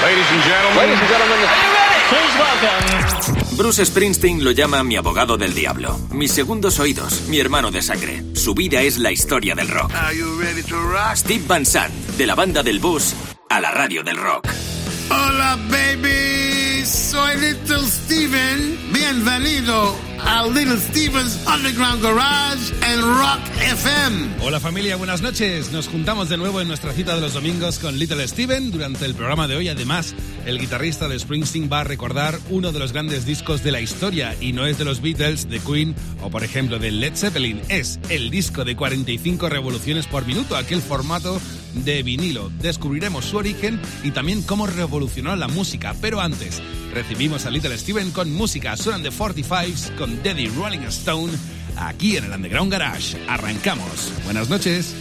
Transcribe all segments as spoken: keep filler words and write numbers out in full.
Ladies and gentlemen. Ladies and gentlemen. Are you ready? Please welcome. Bruce Springsteen lo llama mi abogado del diablo, mis segundos oídos, mi hermano de sangre. Su vida es la historia del rock. Are you ready to rock? Steve Van Sant, de la banda del bus a la radio del rock. Hola, baby. Soy Little Steven. Bienvenido a Little Steven's Underground Garage en Rock F M. Hola familia, buenas noches. Nos juntamos de nuevo en nuestra cita de los domingos con Little Steven. Durante el programa de hoy, además, el guitarrista de Springsteen va a recordar uno de los grandes discos de la historia, y no es de los Beatles, de Queen o por ejemplo de Led Zeppelin. Es el disco de cuarenta y cinco revoluciones por minuto, aquel formato de vinilo. Descubriremos su origen y también cómo revolucionó la música. Pero antes, recibimos a Little Steven con música. Suenan de cuarenta y cinco con Daddy Rolling Stone aquí en el Underground Garage. Arrancamos. Buenas noches.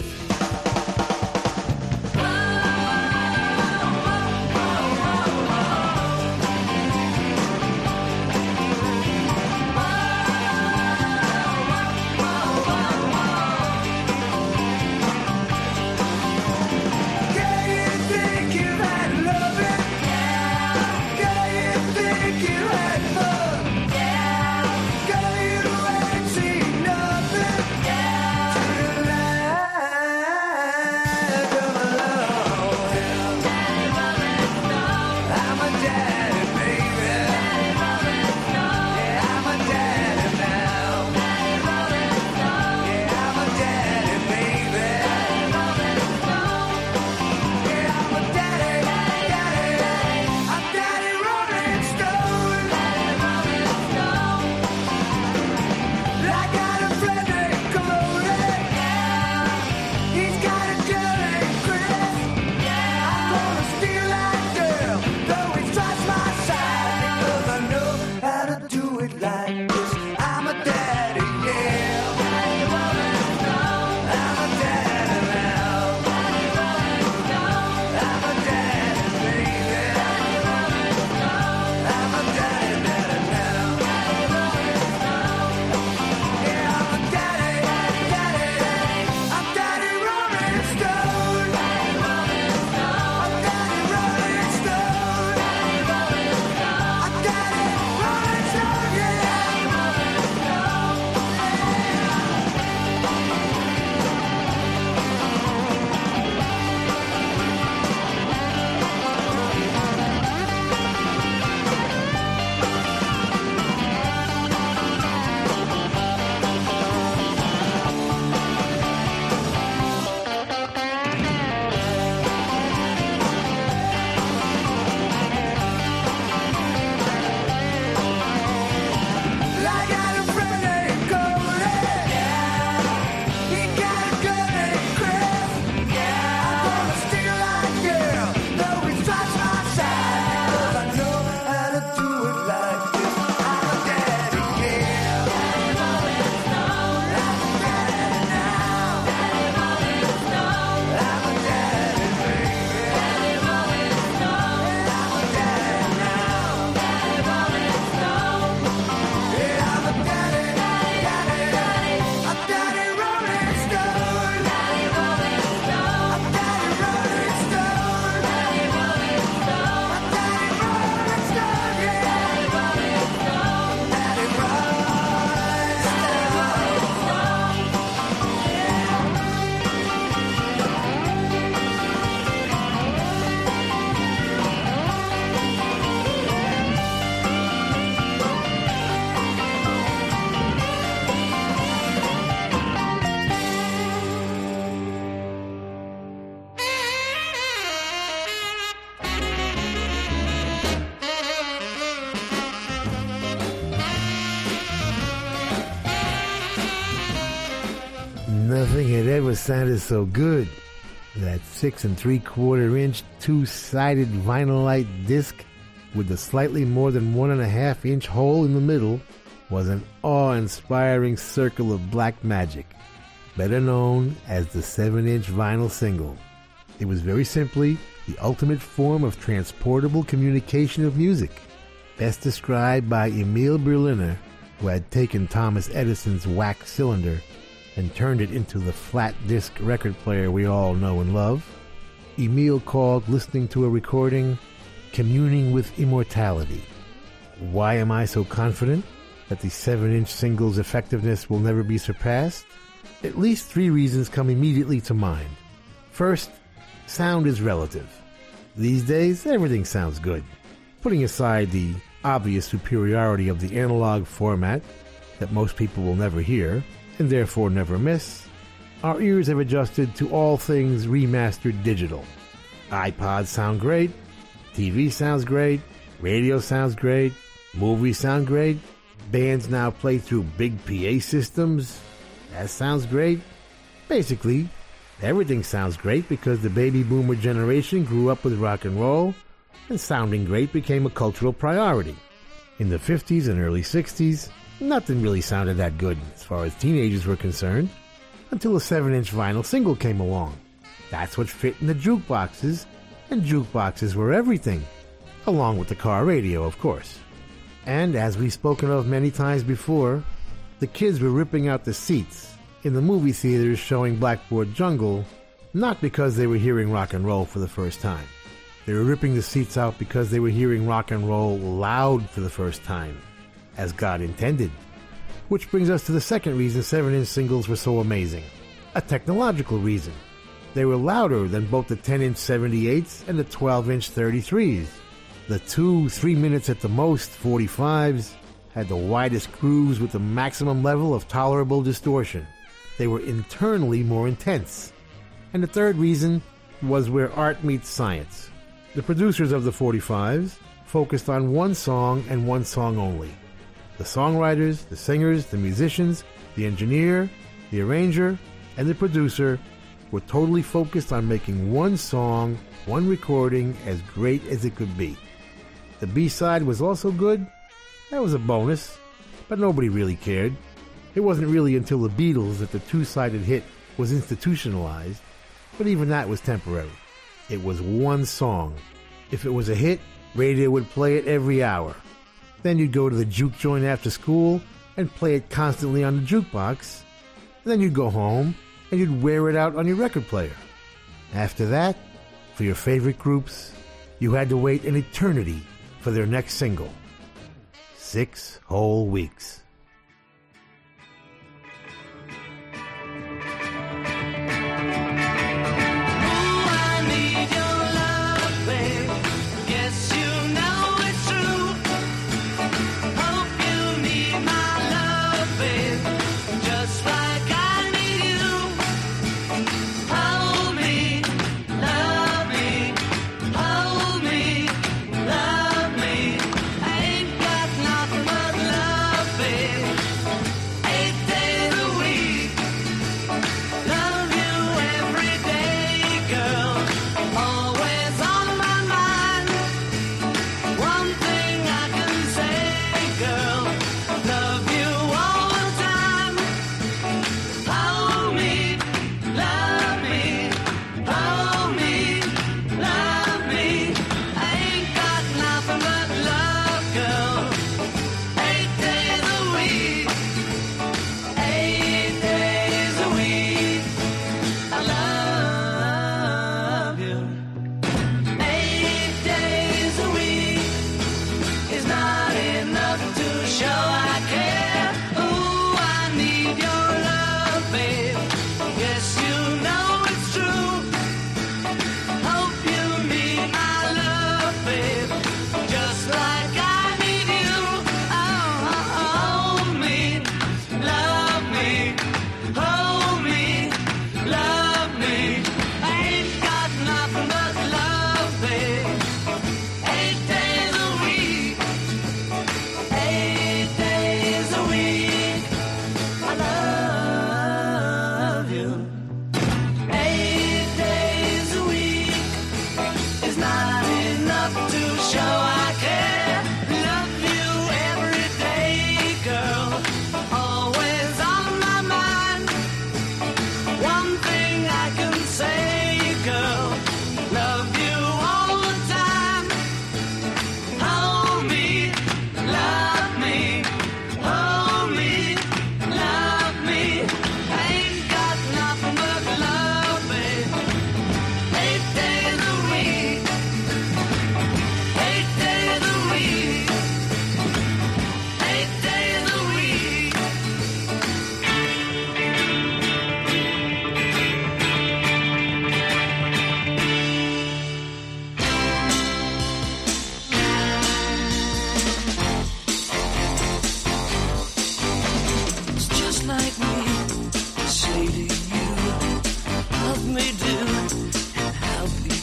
Nothing had ever sounded so good. That six and three quarter inch two-sided vinylite disc with the slightly more than one and a half inch hole in the middle was an awe-inspiring circle of black magic, better known as the seven inch vinyl single. It was very simply the ultimate form of transportable communication of music, best described by Emil Berliner, who had taken Thomas Edison's wax cylinder and turned it into the flat disc record player we all know and love. Emil called listening to a recording communing with immortality. Why am I so confident that the seven-inch single's effectiveness will never be surpassed? At least three reasons come immediately to mind. First, sound is relative. These days, everything sounds good. Putting aside the obvious superiority of the analog format that most people will never hear, and therefore never miss, our ears have adjusted to all things remastered digital. iPods sound great, T V sounds great, radio sounds great, movies sound great, bands now play through big P A systems. That sounds great. Basically, everything sounds great because the baby boomer generation grew up with rock and roll, and sounding great became a cultural priority. In the fifties and early sixties, nothing really sounded that good as far as teenagers were concerned, until a seven-inch vinyl single came along. That's what fit in the jukeboxes, and jukeboxes were everything, along with the car radio, of course. And as we've spoken of many times before, the kids were ripping out the seats in the movie theaters showing Blackboard Jungle, not because they were hearing rock and roll for the first time. They were ripping the seats out because they were hearing rock and roll loud for the first time, as God intended. Which brings us to the second reason seven-inch singles were so amazing. A technological reason. They were louder than both the ten-inch seventy-eights and the twelve-inch thirty-threes. The two, three minutes at the most forty-fives had the widest grooves with the maximum level of tolerable distortion. They were internally more intense. And the third reason was where art meets science. The producers of the forty-fives focused on one song and one song only. The songwriters, the singers, the musicians, the engineer, the arranger, and the producer were totally focused on making one song, one recording as great as it could be. The B-side was also good. That was a bonus, but nobody really cared. It wasn't really until the Beatles that the two-sided hit was institutionalized, but even that was temporary. It was one song. If it was a hit, radio would play it every hour. Then you'd go to the juke joint after school and play it constantly on the jukebox. Then you'd go home and you'd wear it out on your record player. After that, for your favorite groups, you had to wait an eternity for their next single. Six whole weeks. Love me, I ain't got nothing but love, babe.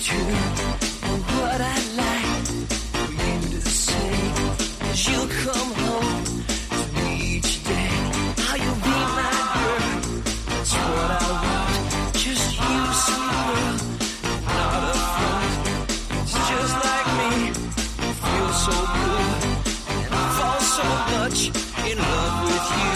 true. And what I'd like for you to say is you'll come home to me each day. How you'll be my girl, that's what I want. Just you, sweet girl, not a front. It's just like me, you feel so good, and I fall so much in love with you.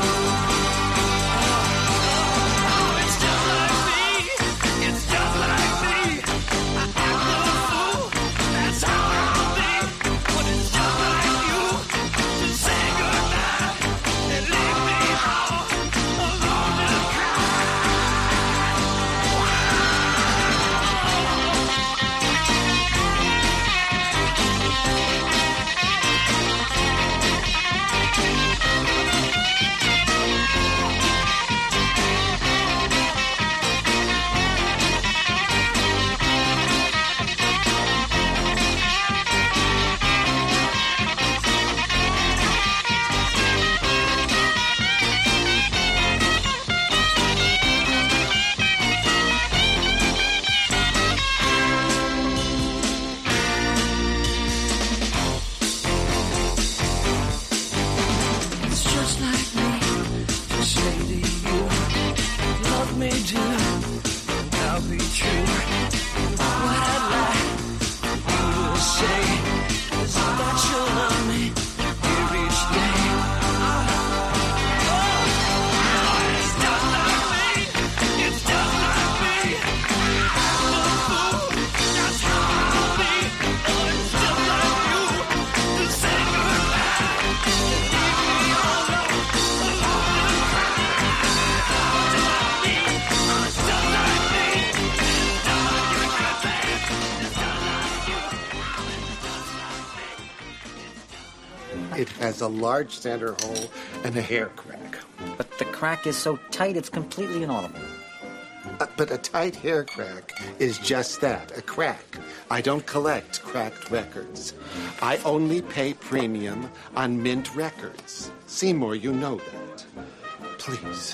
It has a large center hole and a hair crack. But the crack is so tight it's completely inaudible. Uh, but a tight hair crack is just that, a crack. I don't collect cracked records. I only pay premium on mint records. Seymour, you know that. Please.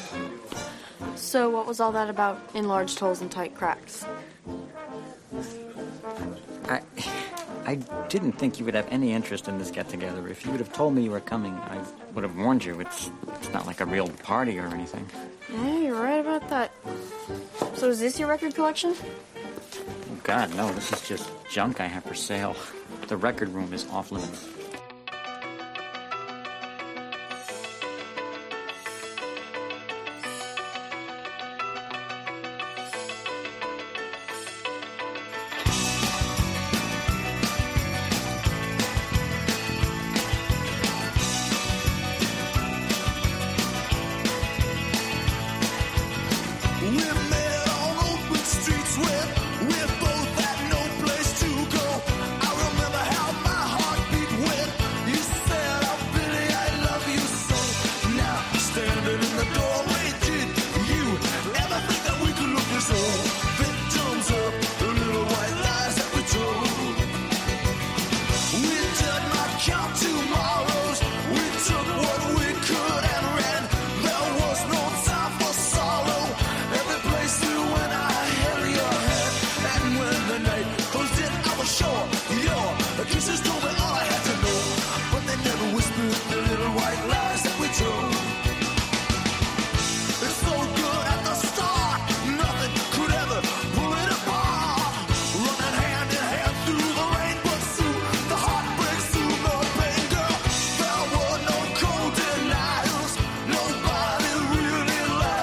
So what was all that about enlarged holes and tight cracks? I... I didn't think you would have any interest in this get-together. If you would have told me you were coming, I would have warned you. It's it's not like a real party or anything. Yeah, you're right about that. So is this your record collection? Oh, God, no. This is just junk I have for sale. The record room is off limits.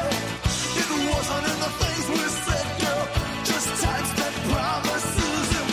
Wasn't in the things we said, girl. Just time spent promises.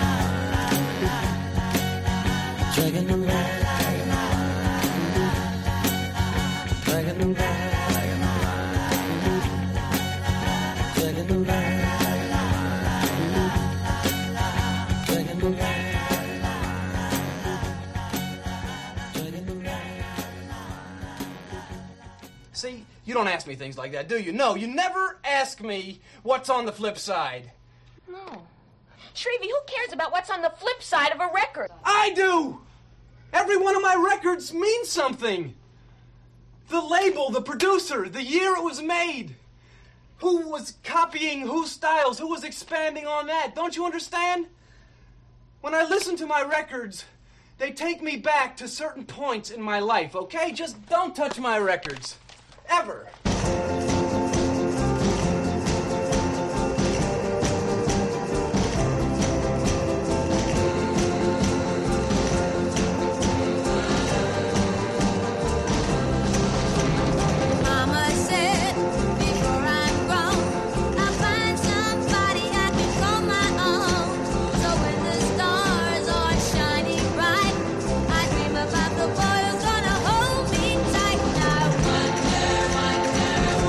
Dragging around, dragging around, dragging around, dragging around. See, you don't ask me things like that, do you? No, you never ask me what's on the flip side. No. Shrevey, who cares about what's on the flip side of a record? I do! Every one of my records means something. The label, the producer, the year it was made. Who was copying whose styles, who was expanding on that. Don't you understand? When I listen to my records, they take me back to certain points in my life, okay? Just don't touch my records. Ever. Mama said, before I'm grown, I'll find somebody I can call my own. So when the stars are shining bright, I dream about the boy who's gonna hold me tight. Now wonder, wonder,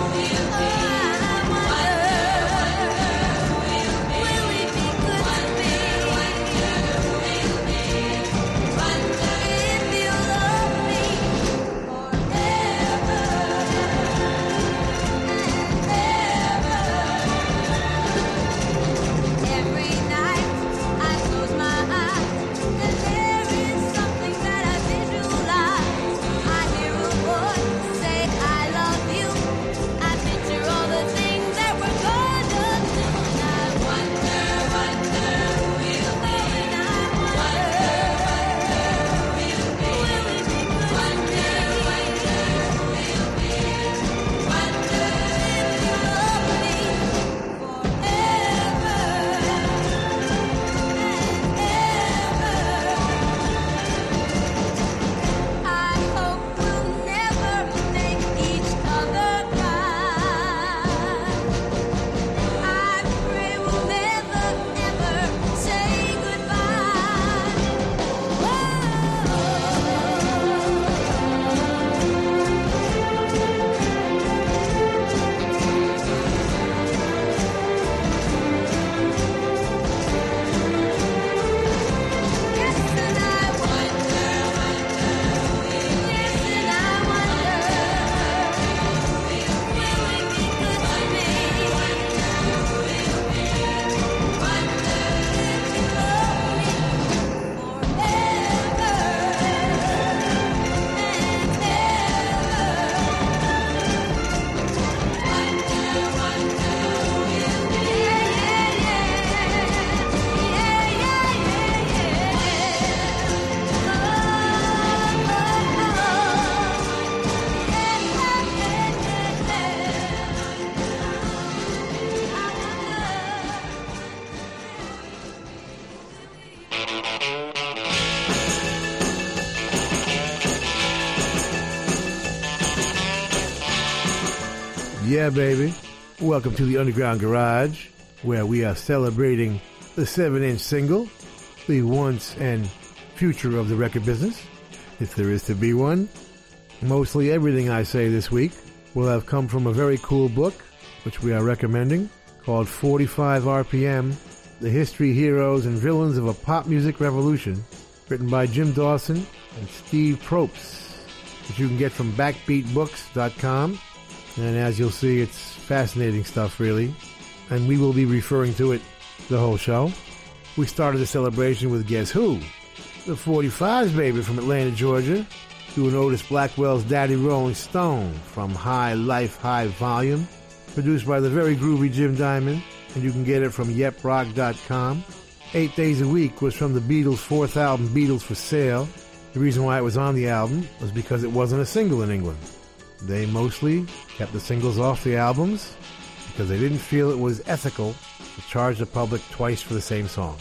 Yeah, baby. Welcome to the Underground Garage, where we are celebrating the seven-inch single, the once and future of the record business, if there is to be one. Mostly everything I say this week will have come from a very cool book, which we are recommending, called forty-five R P M, The History, Heroes, and Villains of a Pop Music Revolution, written by Jim Dawson and Steve Probst, which you can get from backbeat books dot com. And as you'll see, it's fascinating stuff, really. And we will be referring to it the whole show. We started the celebration with Guess Who? The forty-fives, baby, from Atlanta, Georgia, doing Otis Blackwell's Daddy Rolling Stone from High Life, High Volume, produced by the very groovy Jim Diamond, and you can get it from yep rock dot com. Eight Days a Week was from the Beatles' fourth album, Beatles for Sale. The reason why it was on the album was because it wasn't a single in England. They mostly kept the singles off the albums because they didn't feel it was ethical to charge the public twice for the same song.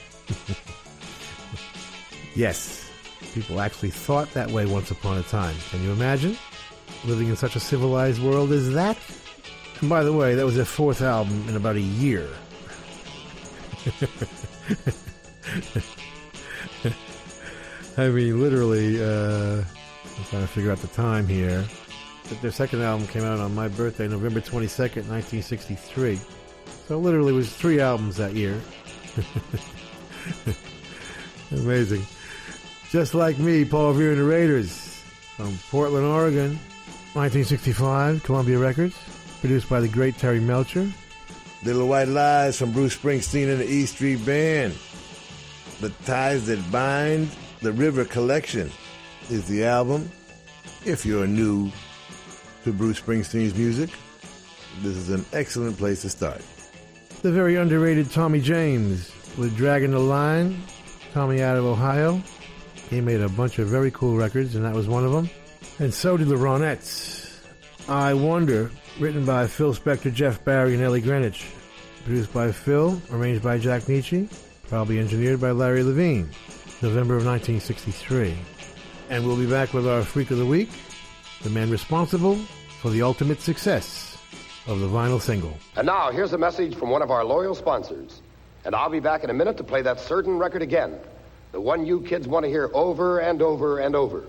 Yes, people actually thought that way once upon a time. Can you imagine living in such a civilized world as that? And by the way, that was their fourth album in about a year. I mean, literally, uh, I'm trying to figure out the time here. But their second album came out on my birthday, November twenty-second, nineteen sixty-three. So literally it was three albums that year. Amazing. Just Like Me, Paul Revere and the Raiders, from Portland, Oregon, nineteen sixty-five, Columbia Records, produced by the great Terry Melcher. Little White Lies from Bruce Springsteen and the E Street Band. The Ties That Bind, The River Collection is the album. If you're new to Bruce Springsteen's music, this is an excellent place to start. The very underrated Tommy James with Dragging the Line. Tommy out of Ohio. He made a bunch of very cool records, and that was one of them. And so did the Ronettes. I Wonder, written by Phil Spector, Jeff Barry, and Ellie Greenwich. Produced by Phil, arranged by Jack Nietzsche, probably engineered by Larry Levine. November of nineteen sixty-three. And we'll be back with our Freak of the Week, the man responsible for the ultimate success of the vinyl single. And now, here's a message from one of our loyal sponsors. And I'll be back in a minute to play that certain record again. The one you kids want to hear over and over and over.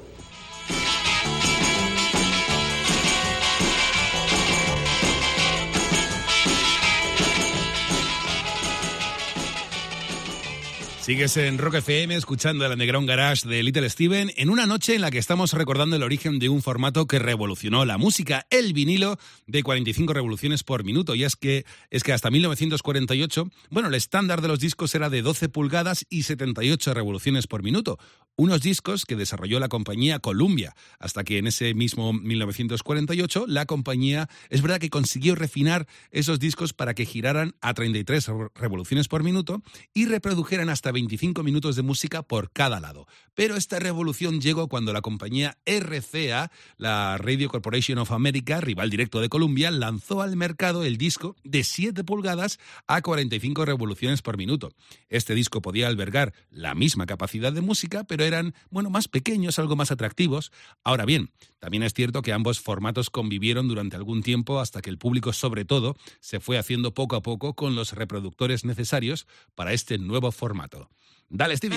Sigues en Rock F M escuchando el Underground Garage de Little Steven en una noche en la que estamos recordando el origen de un formato que revolucionó la música, el vinilo de cuarenta y cinco revoluciones por minuto. Y es que, es que hasta mil novecientos cuarenta y ocho, bueno, el estándar de los discos era de doce pulgadas y setenta y ocho revoluciones por minuto. Unos discos que desarrolló la compañía Columbia, hasta que en ese mismo mil novecientos cuarenta y ocho la compañía, es verdad que consiguió refinar esos discos para que giraran a treinta y tres revoluciones por minuto y reprodujeran hasta veinticinco minutos de música por cada lado. Pero esta revolución llegó cuando la compañía R C A, la Radio Corporation of America, rival directo de Columbia, lanzó al mercado el disco de siete pulgadas a cuarenta y cinco revoluciones por minuto. Este disco podía albergar la misma capacidad de música, pero eran, bueno, más pequeños, algo más atractivos. Ahora bien, también es cierto que ambos formatos convivieron durante algún tiempo hasta que el público, sobre todo, se fue haciendo poco a poco con los reproductores necesarios para este nuevo formato. Dale, Stevie.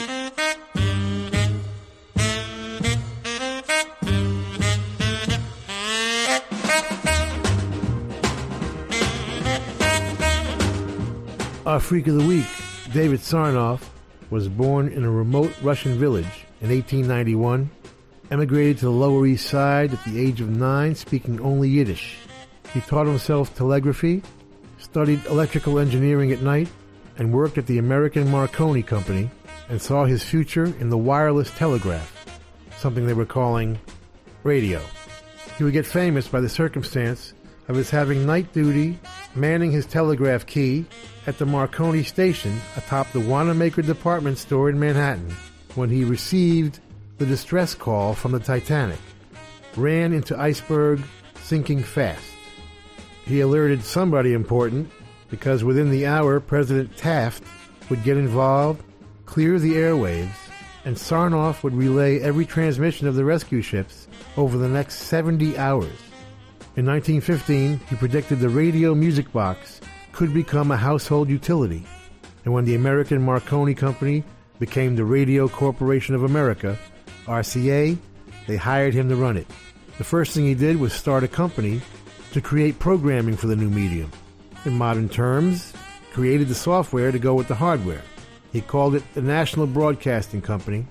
Our Freak of the Week, David Sarnoff, was born in a remote Russian village in eighteen ninety-one, emigrated to the Lower East Side at the age of nine, speaking only Yiddish. He taught himself telegraphy, studied electrical engineering at night, and worked at the American Marconi Company, and saw his future in the wireless telegraph, something they were calling radio. He would get famous by the circumstance of his having night duty, manning his telegraph key at the Marconi station atop the Wanamaker department store in Manhattan when he received the distress call from the Titanic, ran into iceberg, sinking fast. He alerted somebody important because within the hour President Taft would get involved, clear the airwaves, and Sarnoff would relay every transmission of the rescue ships over the next seventy hours. In nineteen fifteen, he predicted the radio music box could become a household utility. And when the American Marconi Company became the Radio Corporation of America, R C A, they hired him to run it. The first thing he did was start a company to create programming for the new medium. In modern terms, created the software to go with the hardware. He called it the National Broadcasting Company,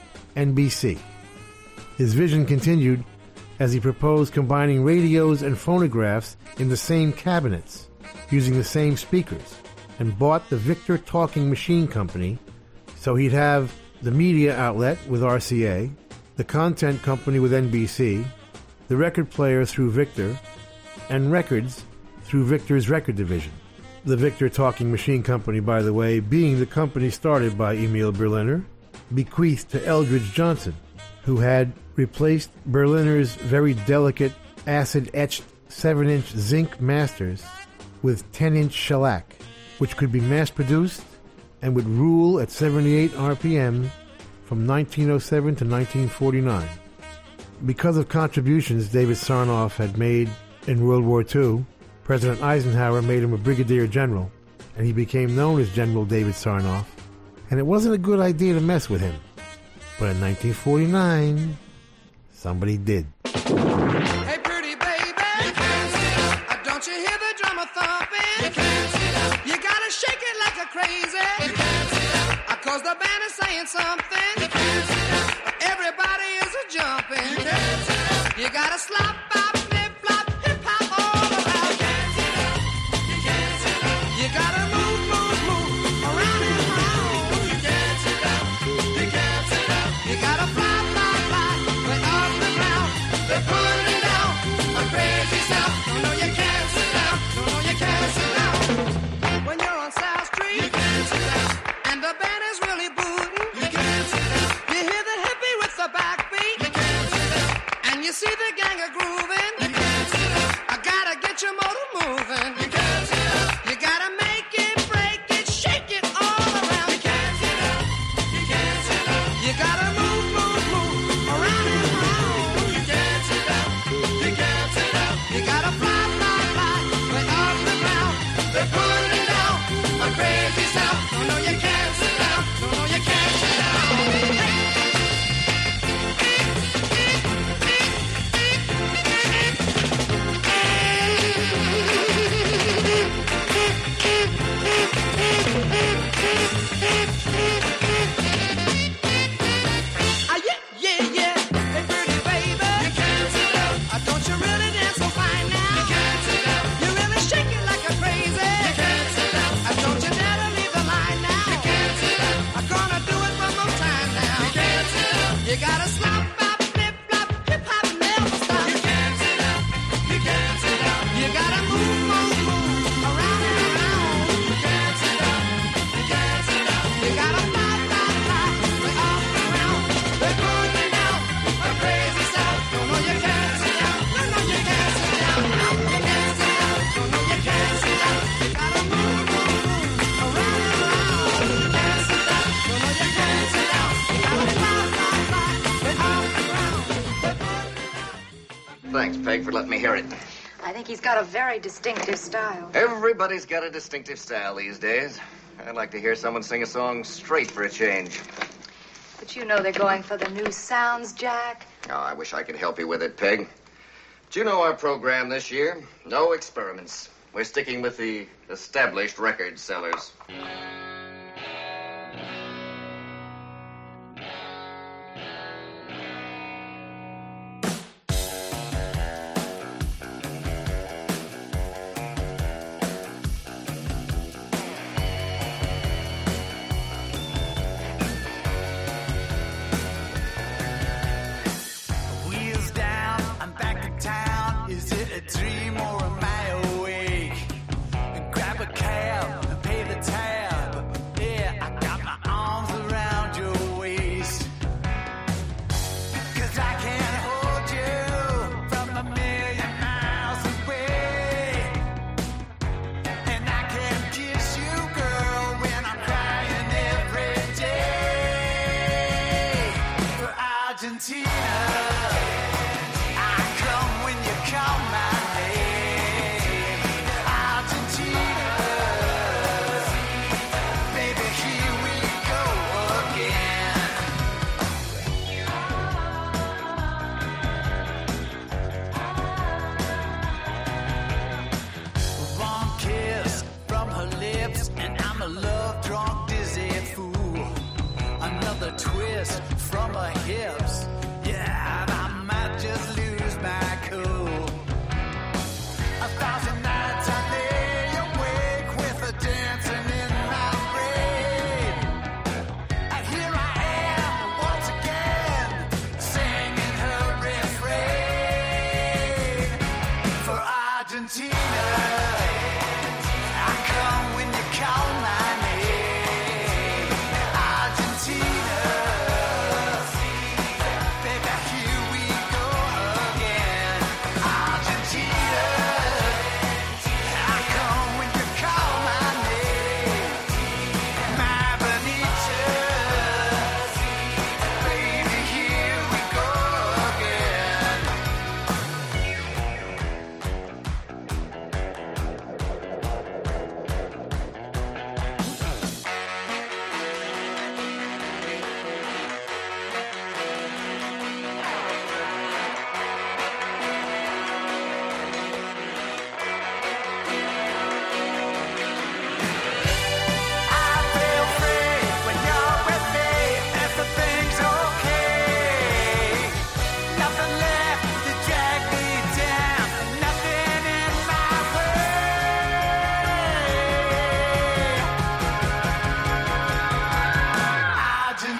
N B C. His vision continued as he proposed combining radios and phonographs in the same cabinets, using the same speakers, and bought the Victor Talking Machine Company, so he'd have the media outlet with R C A, the content company with N B C, the record player through Victor, and records through Victor's record division. The Victor Talking Machine Company, by the way, being the company started by Emil Berliner, bequeathed to Eldridge Johnson, who had replaced Berliner's very delicate acid-etched seven-inch zinc masters with ten-inch shellac, which could be mass-produced and would rule at seventy-eight R P M from nineteen oh seven to nineteen forty-nine. Because of contributions David Sarnoff had made in World War Two, President Eisenhower made him a brigadier general, and he became known as General David Sarnoff, and it wasn't a good idea to mess with him. But in nineteen forty-nine, somebody did. Hey, pretty baby, you can't sit up. Don't you hear the drummer thumping? You can't sit up. You gotta shake it like a crazy. You can't sit up. Cause the band is saying something. You can't sit up. Everybody is a jumping. You can't sit up. You gotta slop, bop, flip, flop, hip hop all around. You can't sit up. You can't sit up. You gotta move, move, move around and around. You can't sit up. You can't sit up. You gotta fly, fly, fly, way off the ground. They're pulling down a crazy sound. No, no, you can't sit down. No, no, you can't sit down. When you're on South Street, you can't sit down. And the band is really booting. You can't sit down. You hear the hippie with the backbeat. You can't sit down. And you see the gang a grooving. You can't sit down. I gotta get your motor moving. You can't sit down. You gotta make it, break it, shake it all around. You can't sit down. You can't sit down. You gotta move, move, move around and around. You can't sit down. You can't sit down. You gotta fly, fly, fly, way off the ground. They're pulling down a crazy sound. No, no, you can't sit down. No, no, you can't sit down. Ah, yeah, yeah, yeah. Hey, pretty baby, you can't sit down. Ah, don't you really dance so fine now? You can't sit down. You really shake it like a crazy. You can't sit down. Ah, don't you dare to leave the line now? You can't sit down. I'm gonna do it one more time now. You can't sit down. You gotta slop, bop, flip, flop, hip hop, never stop. You can't sit down. You can't sit down. You gotta move, move, move around and around. You can't sit down. You can't sit down. You gotta fly, fly, fly, way off the ground. They're pulling down a crazy sound. No, no, you can't sit down. No, no, you can't sit down. You can't sit down. No, no, you can't sit down. You gotta move, move, move around and around. You can't sit down. No, no, you can't sit down. You gotta fly, fly, fly, way off the ground. Thanks, Peg, for letting me hear it. I think he's got a very distinctive style. Everybody's got a distinctive style these days. I'd like to hear someone sing a song straight for a change. But you know they're going for the new sounds, Jack. Oh, I wish I could help you with it, Peg. Do you know our program this year? No experiments. We're sticking with the established record sellers. Wheels down, I'm back in town. Is it a dream or am I awake? Grab a cab and pay the tab.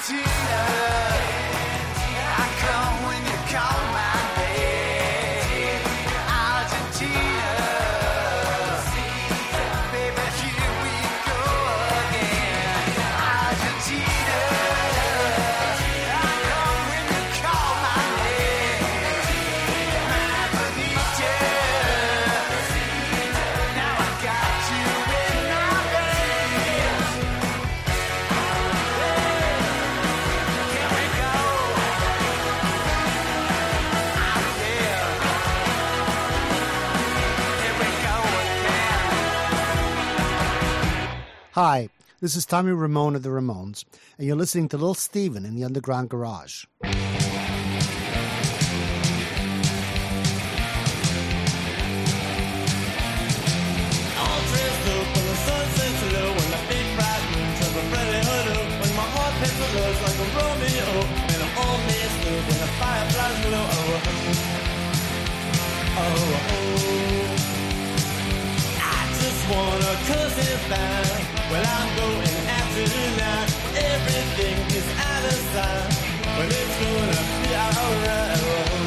Argentina. I come when you call my name. Argentina. Baby, here we go again. Argentina. I come when you call my name. My bonita. Now I got you in my veins. Here we go. Oh, yeah. Here we go again. Hi, this is Tommy Ramone of the Ramones, and you're listening to Little Steven in the Underground Garage. All dressed up when the sun sets low, when the big bright moon turns a Freddy Hood up, when my heart pencil looks like a Romeo, and I'm all messed up when the fireflies glow. Oh, oh, oh, oh. I just wanna cuss it down. Well, I'm going after tonight. Everything is out of sight. Well, it's gonna be alright.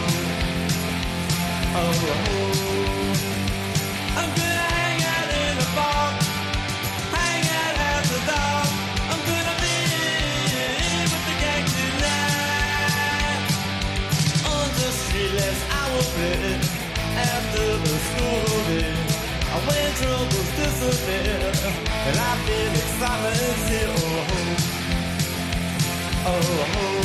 Oh, oh, oh. I'm gonna hang out in the bar, hang out after dark. I'm gonna be with the gang tonight. On the street, less I will play after the school day. When troubles disappear, and I feel excitement here. Oh, oh, oh.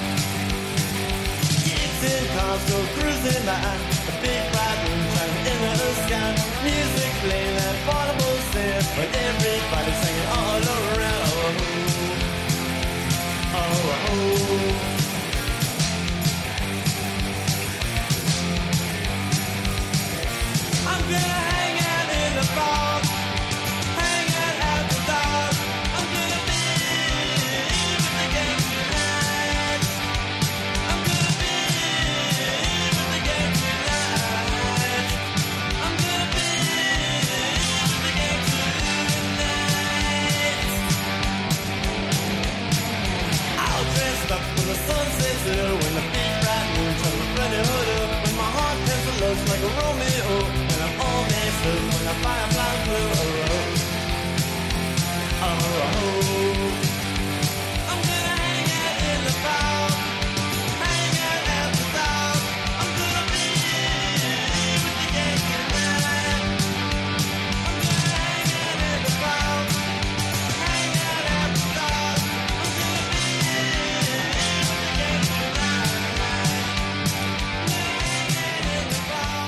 Kids in cars go cruising by, the big bright moon shining in the sky. Music playing that portable set, but everybody's singing all around. Oh, oh, oh. I'm gonna hang out in the bar, hang out after dark. I'm gonna be with the gang tonight. I'm gonna be with the gang tonight. I'm gonna be with the gang tonight. All dressed up when the sun sets low, when the big bright moon turns a Freddy Hood up, when my heart pencil looks like a Romeo. All messed up when the fireflies glow. Oh, oh, oh. I'm gonna hang out in the bar, hang out after dark. I'm gonna be with the gang tonight. I'm gonna hang out in the bar, hang out after dark. I'm gonna be with the gang tonight. I'm gonna hang out in the bar.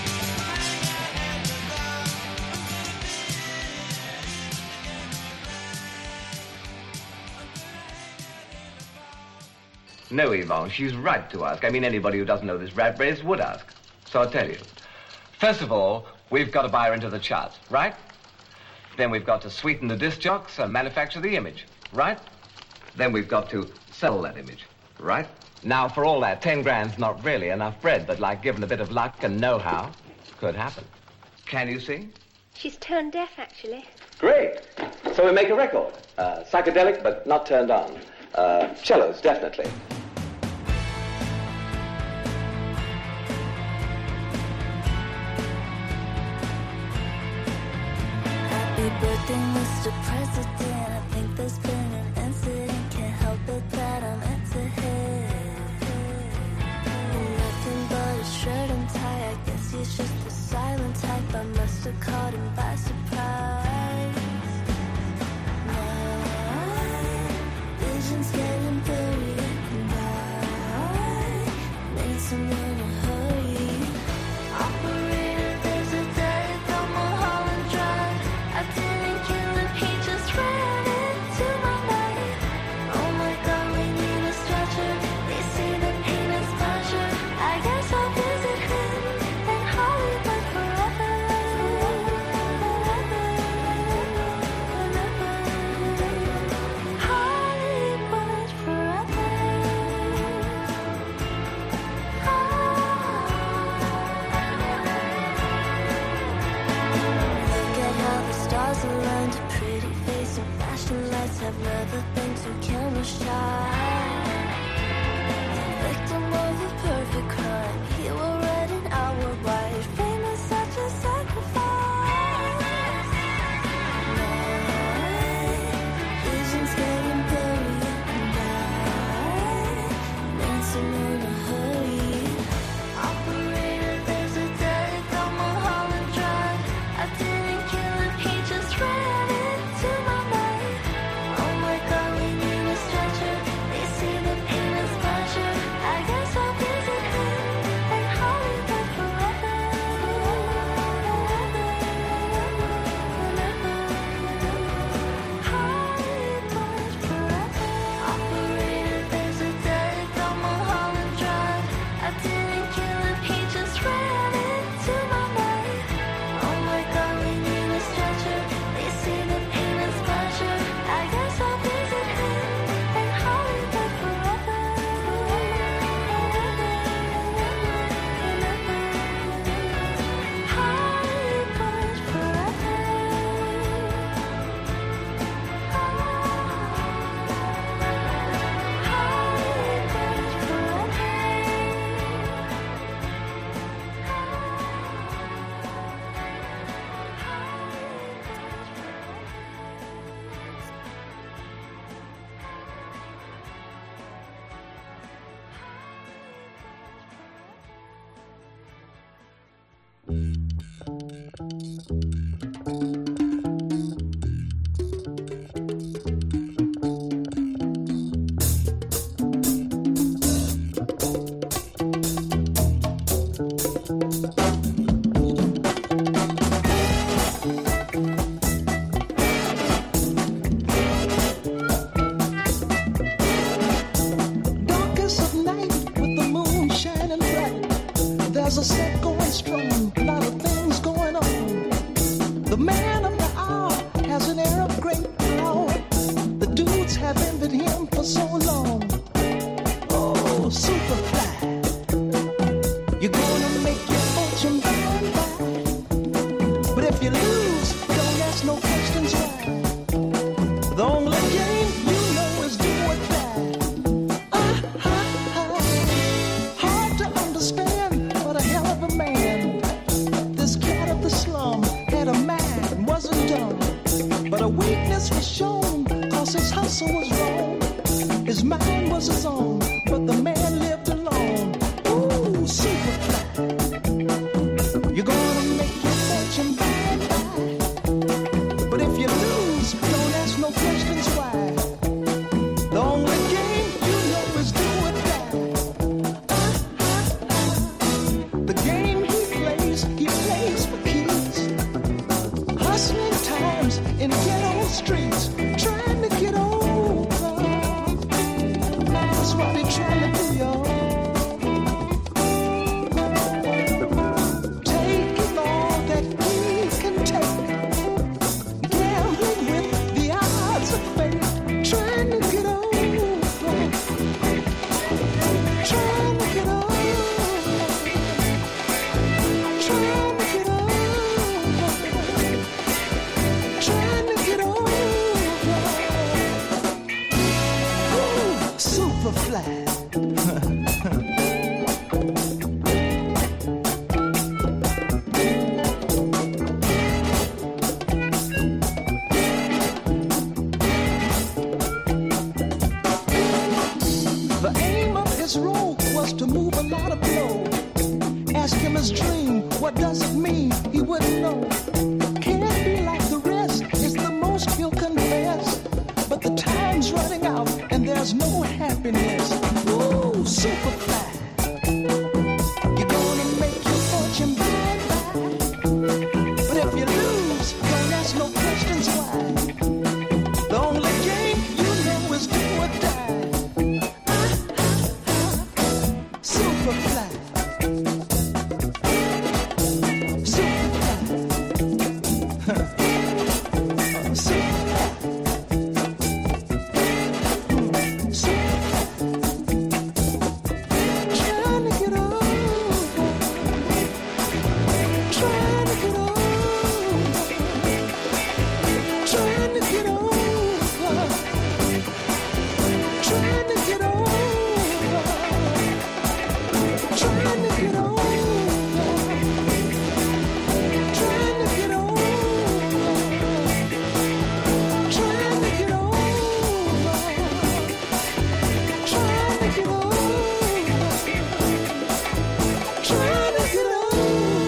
No, Yvonne, she's right to ask. I mean, anybody who doesn't know this rat race would ask. So I'll tell you. First of all, we've got to buy her into the charts, right? Then we've got to sweeten the disc jocks and manufacture the image, right? Then we've got to sell that image, right? Now, for all that, ten grand's not really enough bread, but like given a bit of luck and know-how, could happen. Can you sing? She's tone deaf, actually. Great. So we make a record. Uh, psychedelic, but not turned on. Uh, cellos, definitely. Happy birthday, Mister President. I think there's been an incident. Can't help it that I'm into him. Nothing but a shirt and tie. I guess he's just a silent type. I must have caught him by surprise. My vision's getting blurry, and I need someone to hurry. Operator, there's a dead on Mulholland Drive. I didn't kill him, he just ran. so candles shine. Victim of a perfect crime, he were red and I were white. Fame is such a sacrifice. Night, visions getting blurry and I dancing in a hurry. Operator, there's a dead on Mulholland Drive. I didn't kill him, he just ran into my mind. Oh my God, we need a stretcher. They see the pain is pleasure. I guess I'll visit him and Hollywood forever. Hollywood forever. Operator, there's a dead on Mulholland Drive. I didn't kill him, he just ran into my mind. Oh my God, we need a stretcher. They see the pain is pleasure. I guess I'll visit him and Hollywood forever. Hollywood Darkest of night with the moon shining bright. There's a set going strong, a lot of things going on. The man of the hour has an air of great power. The dudes have envied him for so long. Oh, Superfly, you're gonna make your fortune by and by. But if you lose, don't ask no questions why. The only game you know is do or die. Hard to understand, but a hell of a man. This cat of the slum had a mind, wasn't dumb. But a weakness was shown, cause his hustle was wrong. His mind was his own, but the man lived alone. Ooh, Superfly, you're gonna make your fortune by and by. But if you lose, don't ask no questions why. The only game you know is do or die. The game he plays, he plays for keys. Hustling times in ghetto streets, trying to get over. That's what they're trying to do, y'all. Taking all that we can take, gambling with the odds of fate, trying to get over, trying to get over, trying to get over, trying to get over. Ooh, Superfly. The aim of his role was to move a lot of blow. Ask him his dream, what does it mean? He wouldn't know. Can't be like the rest, is the most he'll confess. But the time's running out and there's no happiness. Ooh, Superfly, you're gonna make your fortune by and by. But if you lose, don't ask no questions why. The only game you know is do or die. Superfly, Superfly, get over. Trying to get over.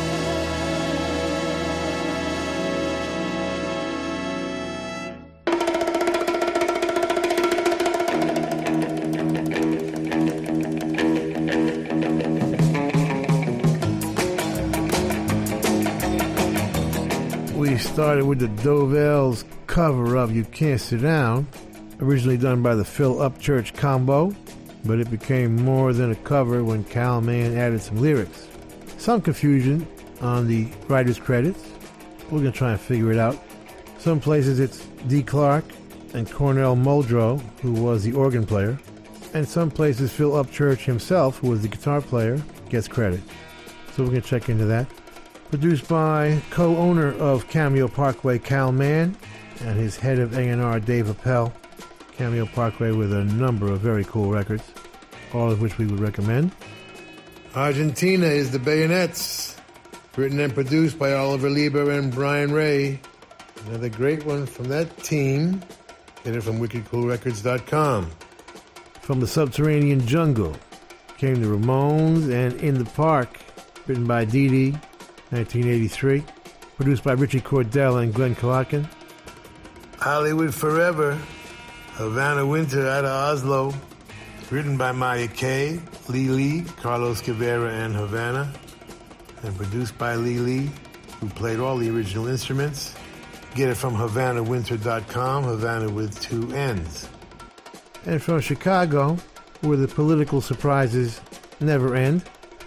We started with the Dovells cover of You Can't Sit Down, originally done by the Phil Upchurch Combo, but it became more than a cover when Cal Mann added some lyrics. Some confusion on the writer's credits. We're going to try and figure it out. Some places it's Dee Clark and Cornell Muldrow, who was the organ player, and some places Phil Upchurch himself, who was the guitar player, gets credit. So we're going to check into that. Produced by co-owner of Cameo Parkway, Cal Mann, and his head of A and R, Dave Appel. Cameo Parkway with a number of very cool records, all of which we would recommend. Argentina is the Bayonets, written and produced by Oliver Lieber and Brian Ray. Another great one from that team. Get it from wicked cool records dot com. From the Subterranean Jungle came the Ramones and In the Park, written by Dee Dee, nineteen eighty-three, produced by Richie Cordell and Glenn Kalakin. Hollywood Forever, Havana Winter out of Oslo, written by Maya Kay, Lee Lee, Carlos Cavera, and Havana, and produced by Lee Lee, who played all the original instruments. Get it from Havana Winter dot com, Havana with two N's. And from Chicago, where the political surprises never end.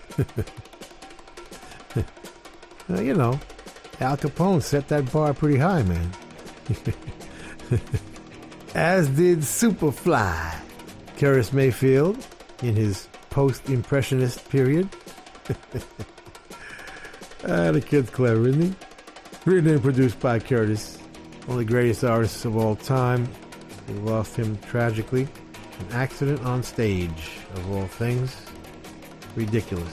uh, you know, Al Capone set that bar pretty high, man. As did Superfly, Curtis Mayfield, in his post-impressionist period. ah, the kid's clever, isn't he? Written and produced by Curtis, one of the greatest artists of all time. We lost him tragically. An accident on stage, of all things. Ridiculous.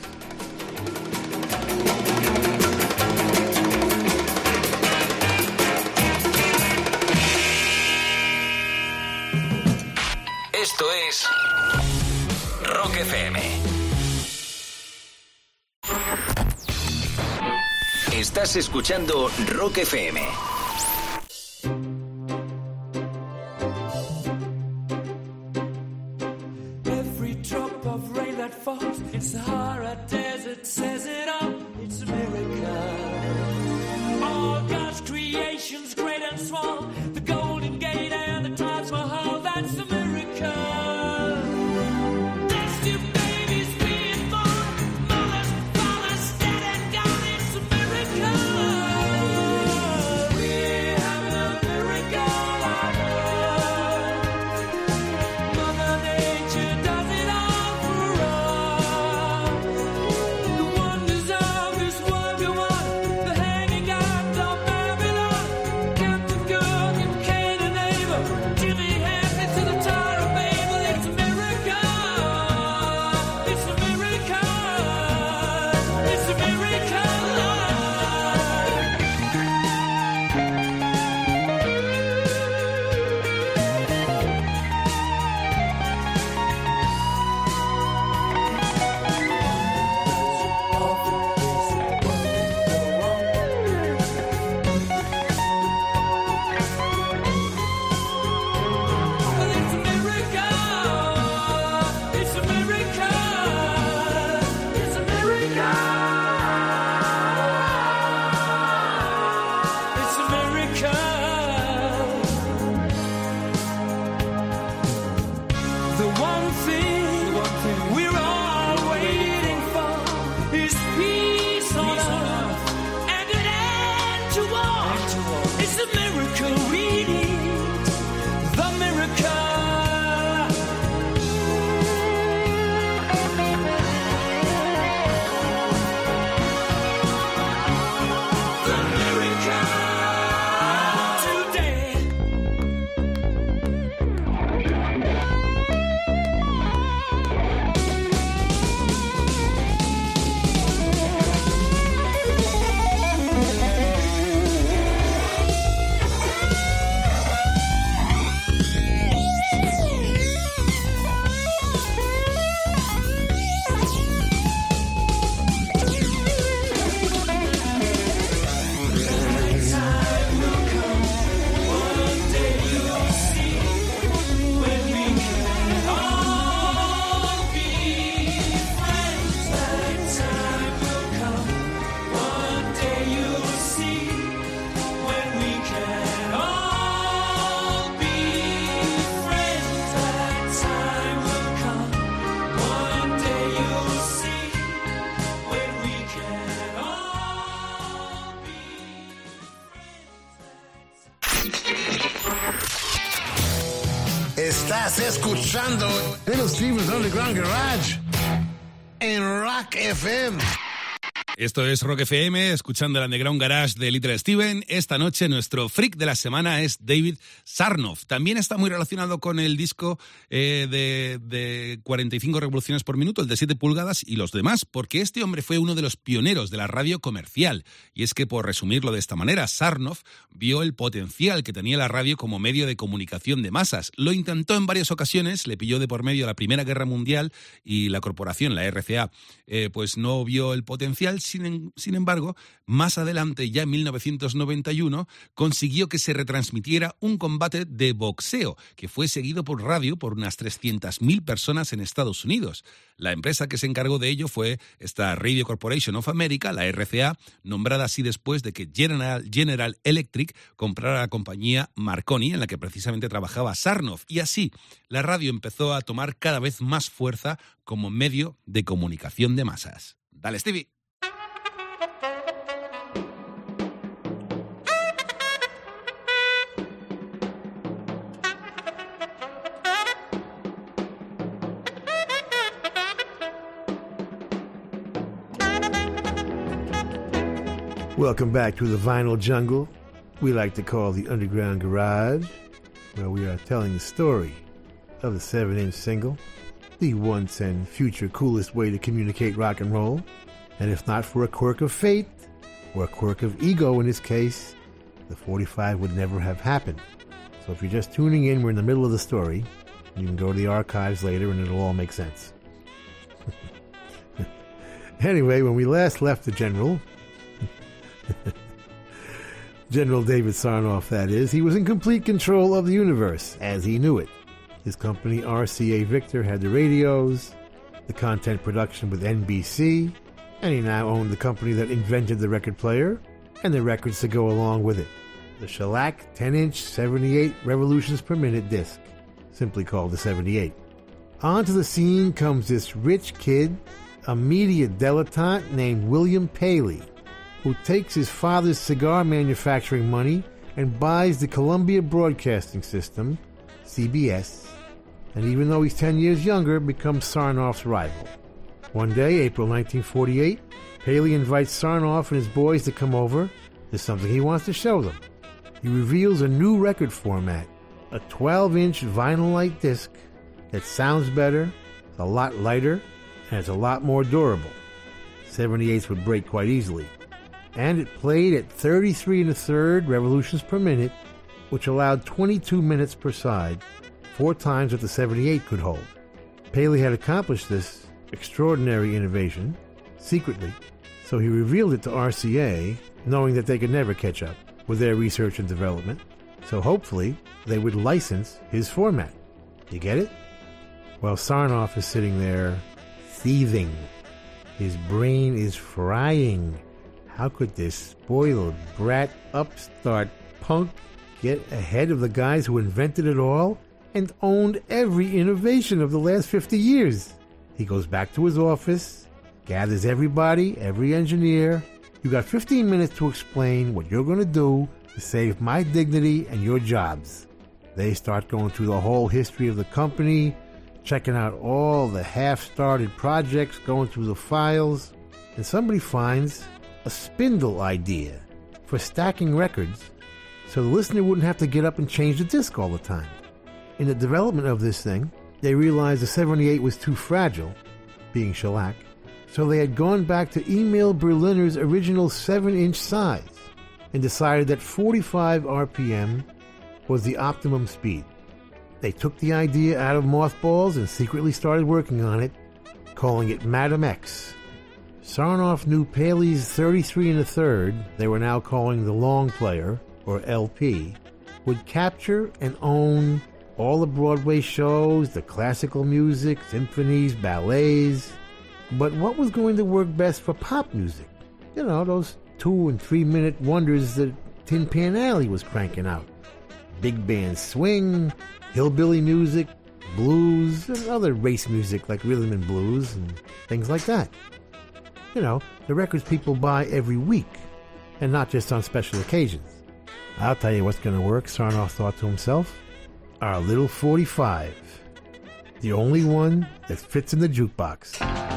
Esto es Rock F M. Estás escuchando Rock F M. Every drop of rain that falls in Sahara Desert says it all. It's a miracle. All God's creations, great and small, the Golden Gate and the Taj Mahal, that's a miracle. There's two babies being born, mothers, fathers, dead and gone. It's a miracle. We're having a miracle on earth. Mother Nature does it all for us. Estás escuchando Little Steven's Underground Garage en Rock F M. Esto es Rock F M, escuchando el Underground Garage de Little Steven. Esta noche nuestro freak de la semana es David Sarnoff. También está muy relacionado con el disco eh, de, de cuarenta y cinco revoluciones por minuto, el de siete pulgadas y los demás, porque este hombre fue uno de los pioneros de la radio comercial. Y es que, por resumirlo de esta manera, Sarnoff vio el potencial que tenía la radio como medio de comunicación de masas. Lo intentó en varias ocasiones, le pilló de por medio la Primera Guerra Mundial y la corporación, la R C A, eh, pues no vio el potencial. Sin, sin embargo, más adelante, ya en mil novecientos noventa y uno, consiguió que se retransmitiera un combate de boxeo que fue seguido por radio por unas trescientas mil personas en Estados Unidos. La empresa que se encargó de ello fue esta Radio Corporation of America, la R C A, nombrada así después de que General, General Electric comprara la compañía Marconi, en la que precisamente trabajaba Sarnoff. Y así, la radio empezó a tomar cada vez más fuerza como medio de comunicación de masas. Dale, Stevie. Welcome back to the vinyl jungle we like to call the Underground Garage, where we are telling the story of the seven-inch single, the once and future coolest way to communicate rock and roll. And if not for a quirk of fate, or a quirk of ego in this case, the forty-five would never have happened. So if you're just tuning in, we're in the middle of the story. You can go to the archives later and it'll all make sense. Anyway, when we last left the General, General David Sarnoff, that is, he was in complete control of the universe, as he knew it. His company, R C A Victor, had the radios, the content production with N B C, and he now owned the company that invented the record player and the records to go along with it. The shellac ten-inch seventy-eight revolutions per minute disc, simply called the seventy-eight. Onto the scene comes this rich kid, a media dilettante named William Paley, who takes his father's cigar manufacturing money and buys the Columbia Broadcasting System, C B S, and even though he's ten years younger, becomes Sarnoff's rival. One day, April nineteen forty-eight, Paley invites Sarnoff and his boys to come over. There's something he wants to show them. He reveals a new record format, a twelve-inch vinyl-light disc that sounds better, it's a lot lighter, and it's a lot more durable. seventy-eights would break quite easily. And it played at thirty-three and a third revolutions per minute, which allowed twenty-two minutes per side, four times what the seventy-eight could hold. Paley had accomplished this extraordinary innovation secretly, so he revealed it to R C A, knowing that they could never catch up with their research and development, so hopefully they would license his format. You get it? Well, Sarnoff is sitting there seething. His brain is frying. How could this spoiled brat upstart punk get ahead of the guys who invented it all and owned every innovation of the last fifty years? He goes back to his office, gathers everybody, every engineer. You got fifteen minutes to explain what you're going to do to save my dignity and your jobs. They start going through the whole history of the company, checking out all the half-started projects, going through the files, and somebody finds a spindle idea for stacking records so the listener wouldn't have to get up and change the disc all the time. In the development of this thing, they realized the seventy-eight was too fragile, being shellac, so they had gone back to Emil Berliner's original seven-inch size and decided that forty-five R P M was the optimum speed. They took the idea out of mothballs and secretly started working on it, calling it Madam X. Sarnoff knew Paley's thirty-three and a third, they were now calling the long player, or L P, would capture and own all the Broadway shows, the classical music, symphonies, ballets. But what was going to work best for pop music? You know, those two and three minute wonders that Tin Pan Alley was cranking out. Big band swing, hillbilly music, blues, and other race music like rhythm and blues and things like that. You know, the records people buy every week, and not just on special occasions. I'll tell you what's going to work, Sarnoff thought to himself. Our little forty-five. The only one that fits in the jukebox.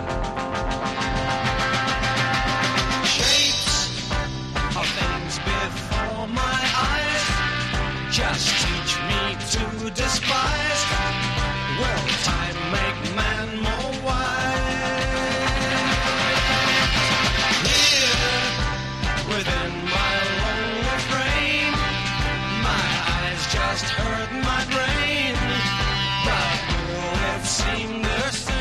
Shapes of things before my eyes just teach me to despise. Will time make man more wise? Here, within my lonely frame, my eyes just hurt my brain, but will it seem the same?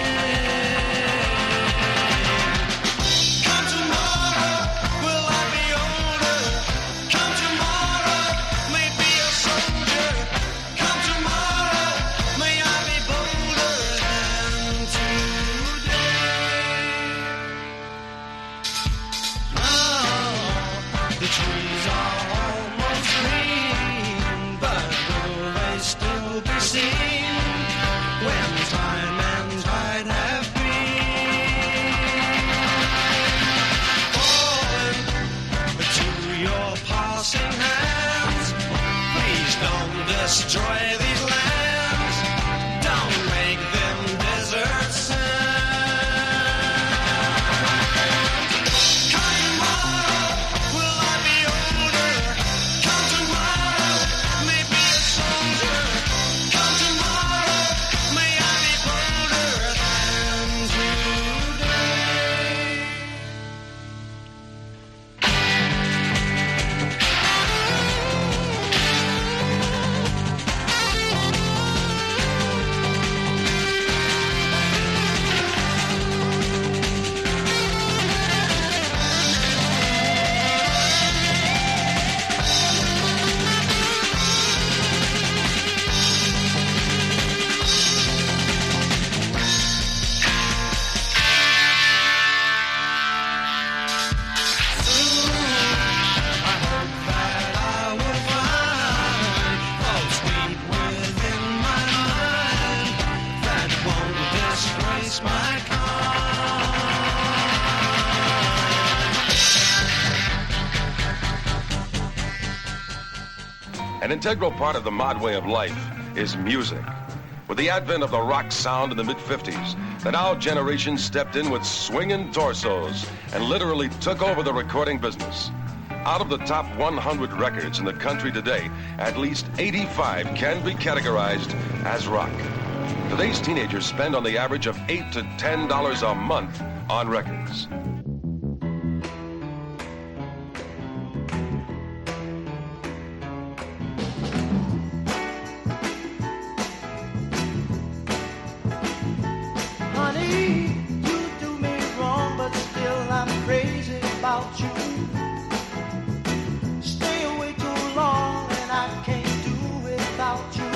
Come tomorrow, will I be older? Come tomorrow, may be a soldier. Come tomorrow, may I be bolder than today. Now, the trees are almost green, but will they still be seen when time and tide have been? Falling to your passing hands, please don't destroy these lands. Don't make them desert sands. Come tomorrow, will I be older? Come tomorrow, may be a soldier. Come tomorrow, may I be bolder than today. An integral part of the mod way of life is music. With the advent of the rock sound in the mid fifties, the now generation stepped in with swinging torsos and literally took over the recording business. Out of the top one hundred records in the country today, at least eighty-five can be categorized as rock. Today's teenagers spend on the average of eight to ten dollars a month on records. Honey, you do me wrong, but still I'm crazy about you. Stay away too long and I can't do without you.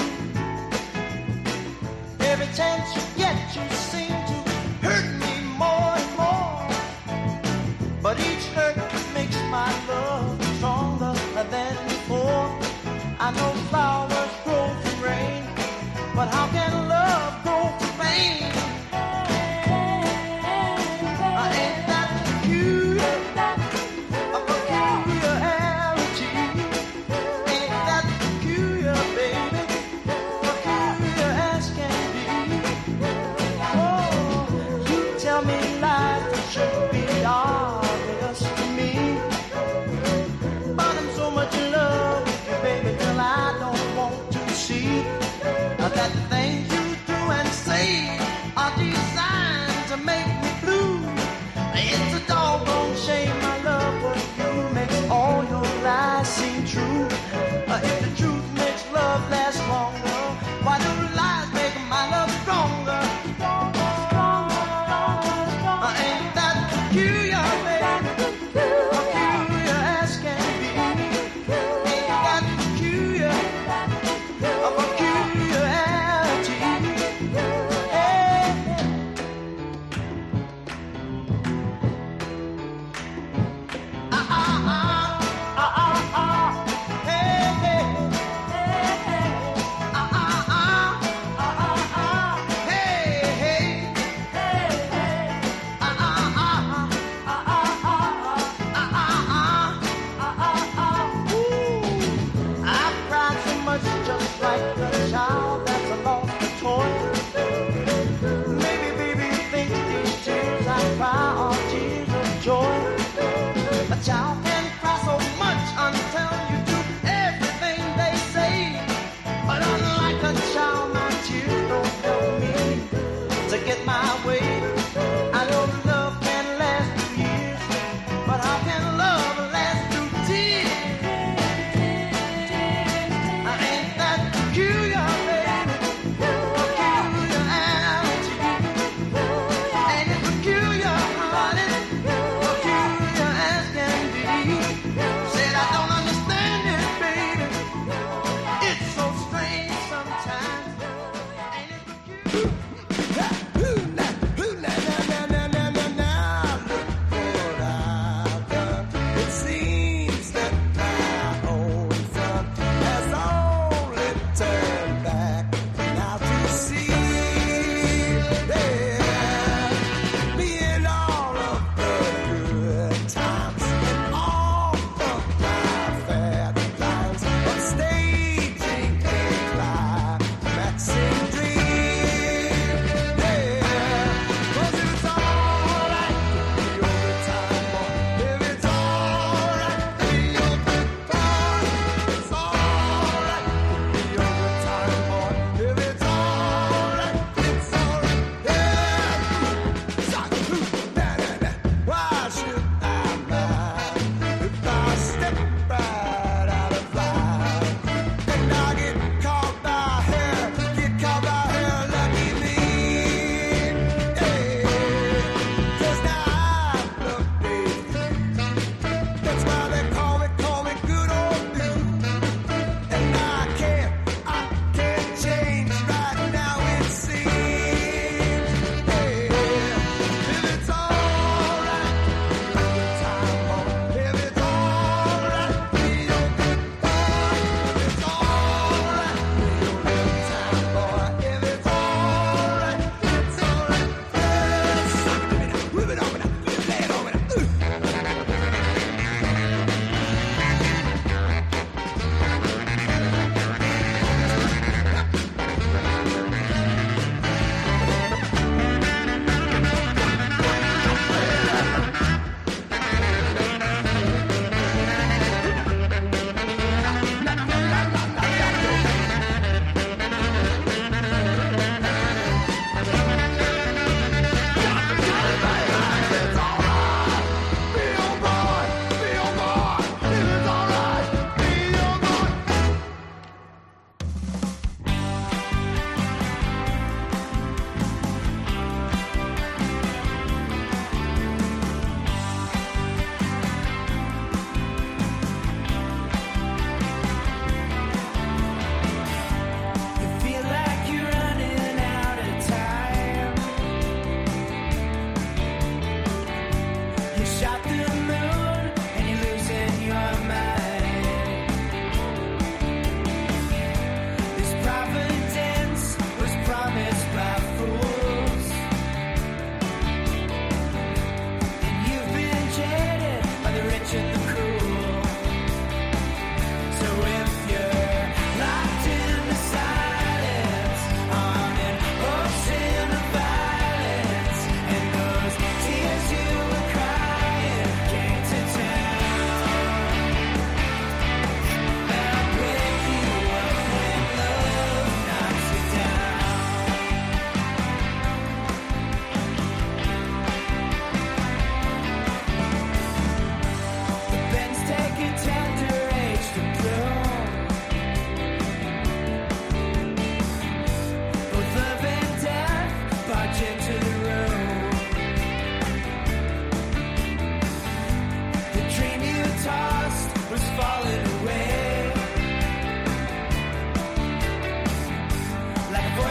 Every chance you get, you seem to hurt me more and more. But each hurt makes my love stronger than before. I know flowers grow from rain, but how can love grow from pain? Ain't that peculiar? A peculiarity. Ain't that peculiar, baby? Peculiar as can be. Oh, you tell me life should be obvious to me, but I'm so much in love with you, baby, till I don't want to see that things you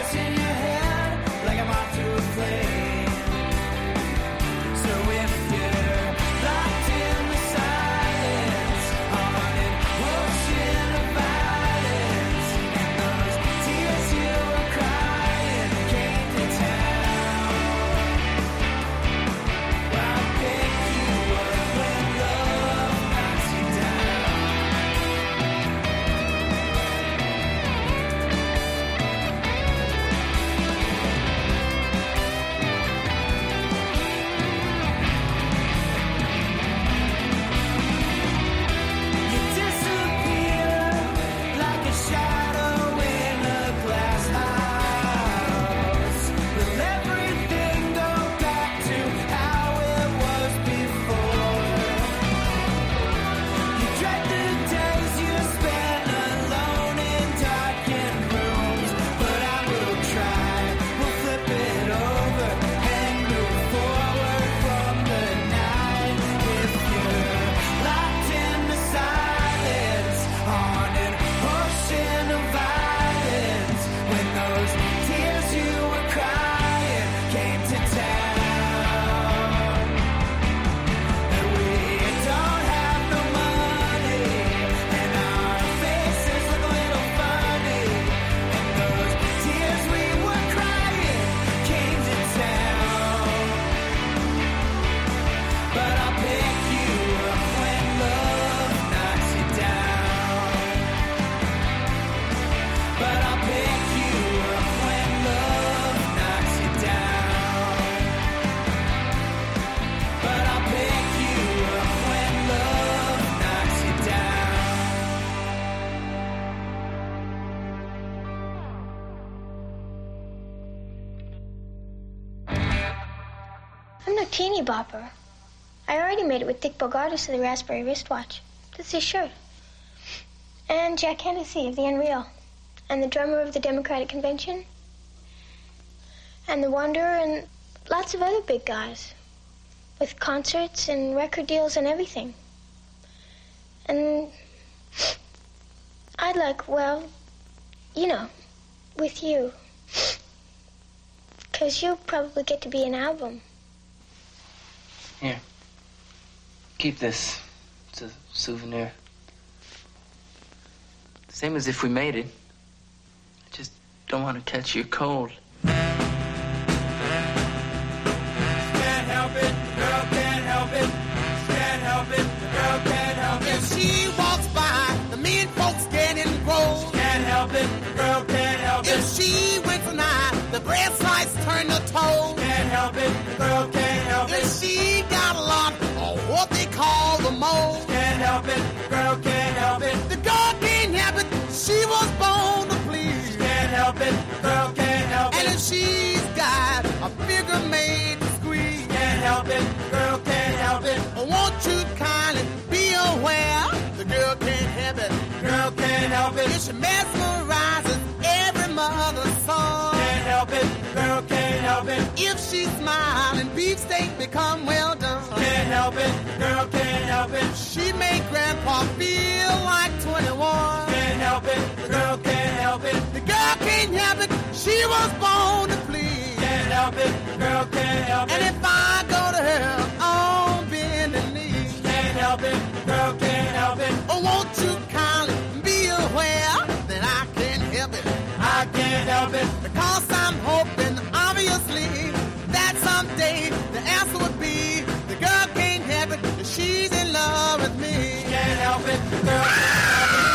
voice in your head like a moth to a flame. So if you're locked in the silence on an ocean of violence, and those tears you were crying came to town, I'll pick you up when love knocks you down. You disappear like a shadow in a glass house. Will everything go back to how it was before? You dread the days you spent alone in darkened rooms, but I will try. We'll flip it over and move forward from the night. If you're locked in the silence on an ocean of violence, when those tears you were crying came to town, and we don't have no money, and our faces look a little funny, and those tears we were crying came to town. But I'll pick you up when love knocks you down. But I'll pick you up when love knocks you down. But I'll pick you up when love knocks you down. I'm no teeny bopper. I already made it with Dick Bogartis of the Raspberry Wristwatch. That's his shirt. And Jack Hennessy of the Unreal. And the drummer of the Democratic Convention. And the Wanderer and lots of other big guys. With concerts and record deals and everything. And I'd like, well, you know, with you. 'Cause you'll probably get to be an album. Here. Keep this. It's a souvenir. Same as if we made it. I just don't want to catch your cold. Can't help it, the girl can't help it. Can't help it, the girl can't help it. If she walks by, the mean folks get engrossed. Can't help it, the girl can't help it. If she winks an eye, the bread slice turn to toast. Can't help it, the girl can't help it. If she got a lot of what they call the most. Can't help it, the girl can't help it. The girl can't help it, she was born to please. Can't help it, the girl can't help it. And if she's got a figure made to squeeze. Can't help it, the girl can't help it. Won't you kindly be aware? The girl can't help it, the girl can't help it. If she mesmerizes every mother's son. Can't help it, the girl can't help it. If she smiles and beefsteak become well done. Can't help it, the girl can't help it. She make grandpa feel like twenty-one. Can't help it, the girl can't help it. The girl can't help it, she was born to please. Can't help it, the girl can't help it. And if I go to her on bending knees. Can't help it, the girl can't help it. Oh, won't you kindly be aware that I can't help it? I can't help it. Because I'm hoping, obviously, that someday the answer would be the girl can't help it, that she's in love with me. Can't help it, the girl can't help it.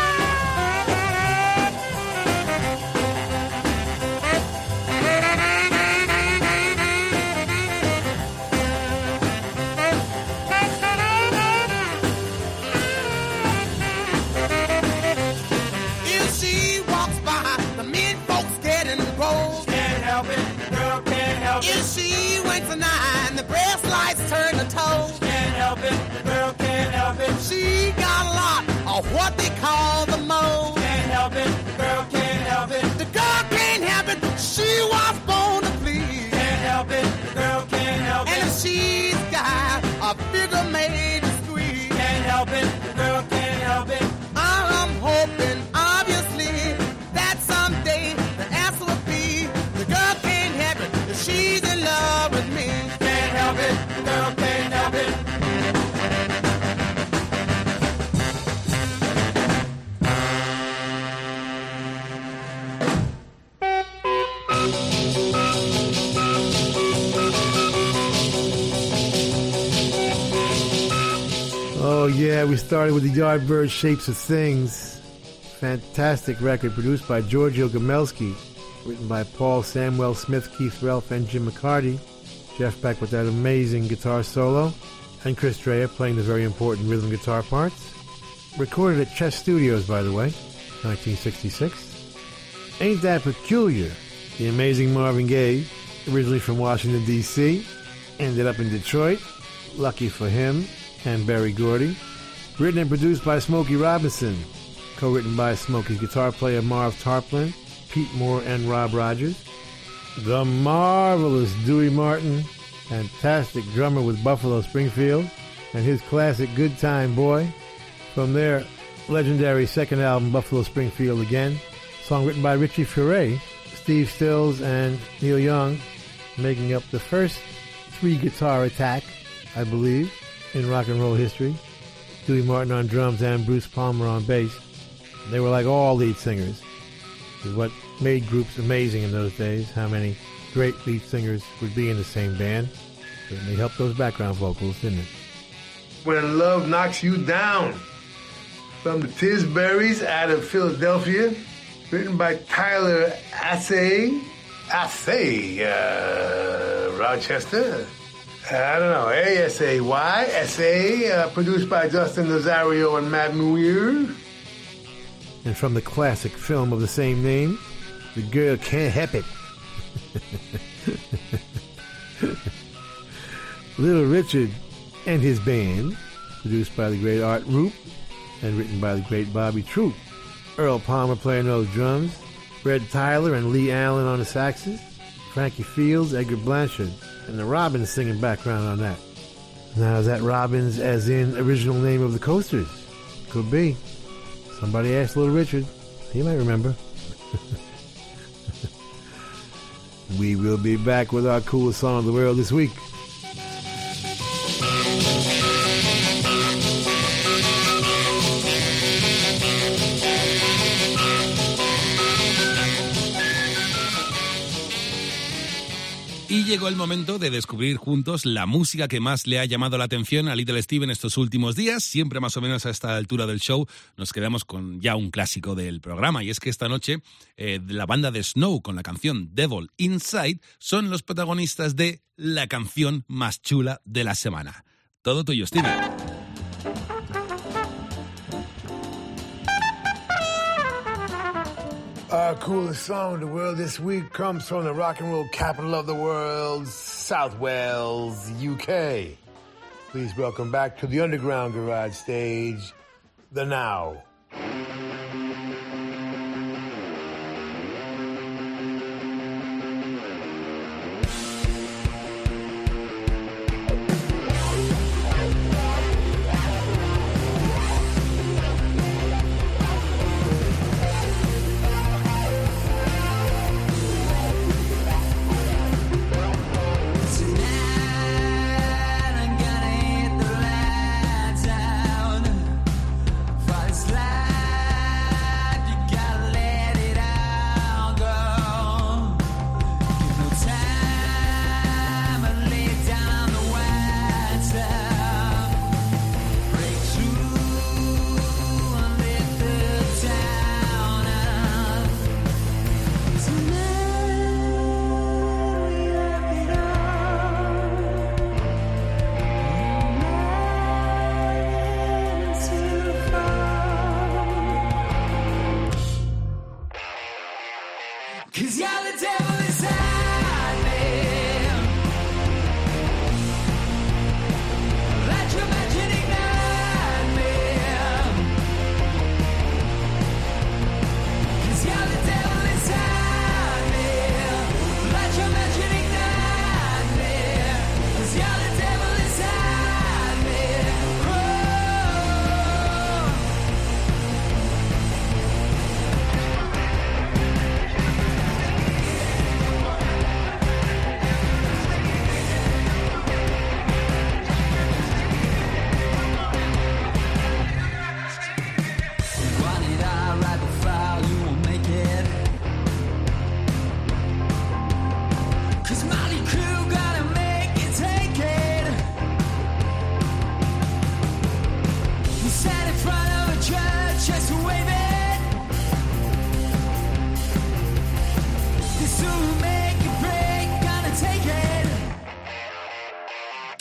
If she walks by, the men folks get engrossed. Can't help it, the girl can't help it. If she winks an eye and the breast lights turn to toast. Can't help it, the girl can't help it. She got a lot of what they call the most. Can't help it, the girl can't help it. The girl can't help it, she was born to please. Can't help it, the girl can't help it. And if she's got a figure made to squeeze. Can't help it, the girl can't help it. I'm hoping, obviously, that someday the answer will be yeah, we started with the Yardbird Shapes of Things. Fantastic record produced by Giorgio Gomelsky, written by Paul Samuel Smith, Keith Relf, and Jim McCarty. Jeff Beck with that amazing guitar solo, and Chris Dreja playing the very important rhythm guitar parts. Recorded at Chess Studios, by the way, nineteen sixty-six. Ain't That Peculiar? The amazing Marvin Gaye, originally from Washington, D C, ended up in Detroit. Lucky for him and Berry Gordy. Written and produced by Smokey Robinson. Co-written by Smokey's guitar player Marv Tarplin, Pete Moore, and Rob Rogers. The marvelous Dewey Martin, fantastic drummer with Buffalo Springfield, and his classic Good Time Boy. From their legendary second album, Buffalo Springfield Again. Song written by Richie Furay, Steve Stills, and Neil Young, making up the first three-guitar attack, I believe, in rock and roll history. Dewey Martin on drums and Bruce Palmer on bass. They were like all lead singers. It was what made groups amazing in those days, how many great lead singers would be in the same band. Certainly helped those background vocals, didn't it? When Love Knocks You Down, from the Tisburys out of Philadelphia, written by Tyler Assay, Assay, uh, Rochester. I don't know, A S A Y, S A, uh, produced by Justin Nazario and Matt Muir. And from the classic film of the same name, The Girl Can't Help It. Little Richard and His Band, produced by the great Art Roop and written by the great Bobby Troup. Earl Palmer playing those drums, Fred Tyler and Lee Allen on the saxes, Frankie Fields, Edgar Blanchard, and the Robbins singing background on that. Now, is that Robbins as in original name of the Coasters? Could be. Somebody asked Little Richard. He might remember. We will be back with our coolest song of the world this week. Y llegó el momento de descubrir juntos la música que más le ha llamado la atención a Little Steven estos últimos días. Siempre más o menos a esta altura del show nos quedamos con ya un clásico del programa. Y es que esta noche eh, la banda de Snow con la canción Devil Inside son los protagonistas de la canción más chula de la semana. Todo tuyo, Steven. Our coolest song of the world this week comes from the rock and roll capital of the world, South Wales, U K. Please welcome back to the Underground Garage stage, The Now.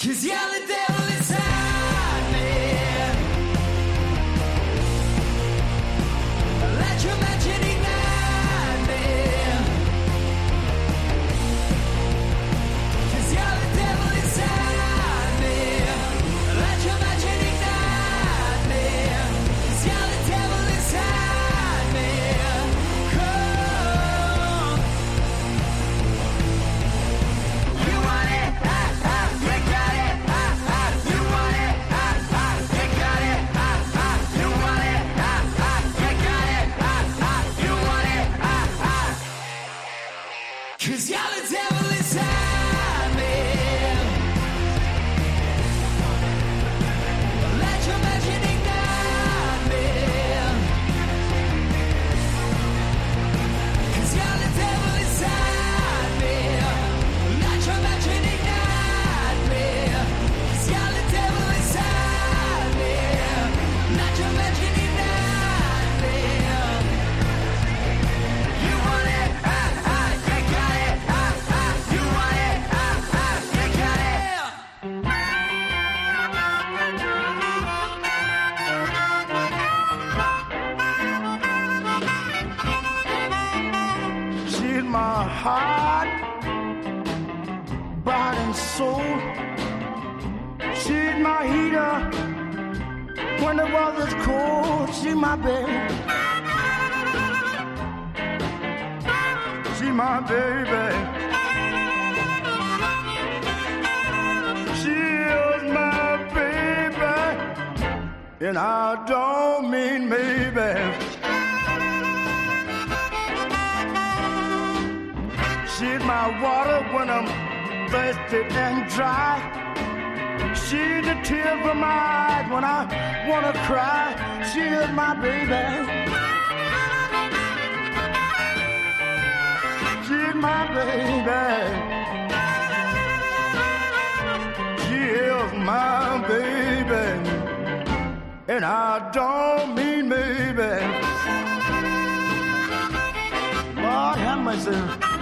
'Cause you're the devil inside me. Let your magic ignite me. 'Cause you're the devil inside me. Let your magic ignite me. 'Cause you're the devil inside me. Come. You want it, ah, ah, you got it, ah, ah, you want it, ah, ah, you got it, ah, ah, you want it, ah, ah, you got it, ah, ah, you want it, ah, ah. 'Cause you're the devil inside me. Let your magic ignite me. 'Cause you're the devil inside me. Let your magic ignite me. 'Cause you're the devil inside me. Let your magic ignite me. You want it, ah, ah, you got it, ah, ah, you want it, ah, ah, you got it. She's my heart, body and soul. She's my heater when the weather's cold. She's my baby. She's my baby. She is my baby, and I don't mean maybe. She's my water when I'm thirsty and dry. She's the tear from my eyes when I wanna cry. She is my baby. She's my baby. She is my baby, and I don't mean maybe. Lord have mercy.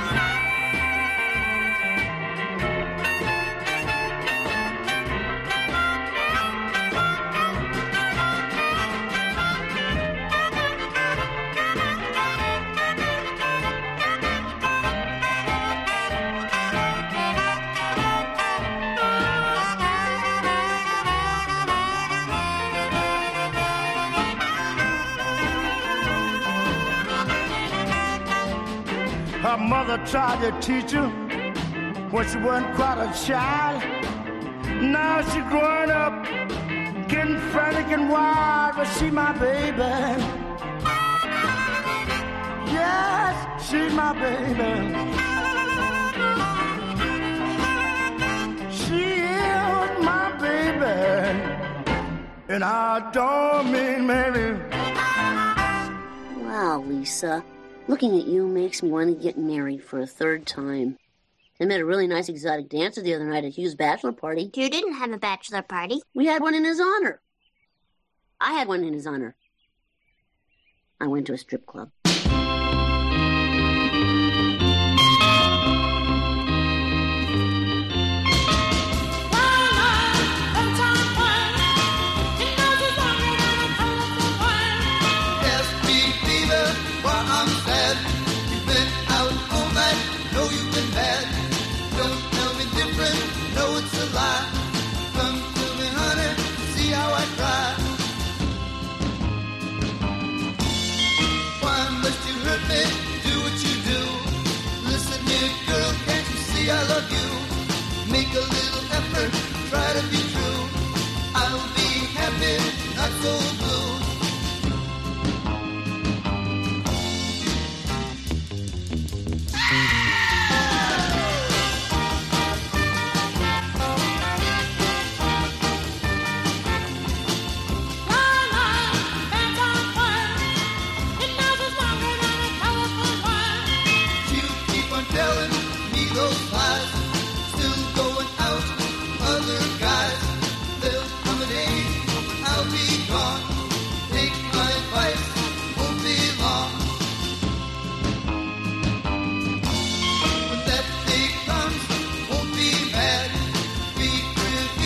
Her mother tried to teach her when she wasn't quite a child. Now she's growing up, getting frantic and wild, but she my baby. Yes, she's my baby. She is my baby, and I don't mean maybe. Wow, Lisa. Looking at you makes me want to get married for a third time. I met a really nice exotic dancer the other night at Hugh's bachelor party. You didn't have a bachelor party. We had one in his honor. I had one in his honor. I went to a strip club. I love you. Make a little effort, try to be true. I'll be happy, not so blue. You keep on telling me those lies, still going out, other guys. There'll come a day I'll be gone. Take my advice, won't be long. When that day comes, won't be mad. Be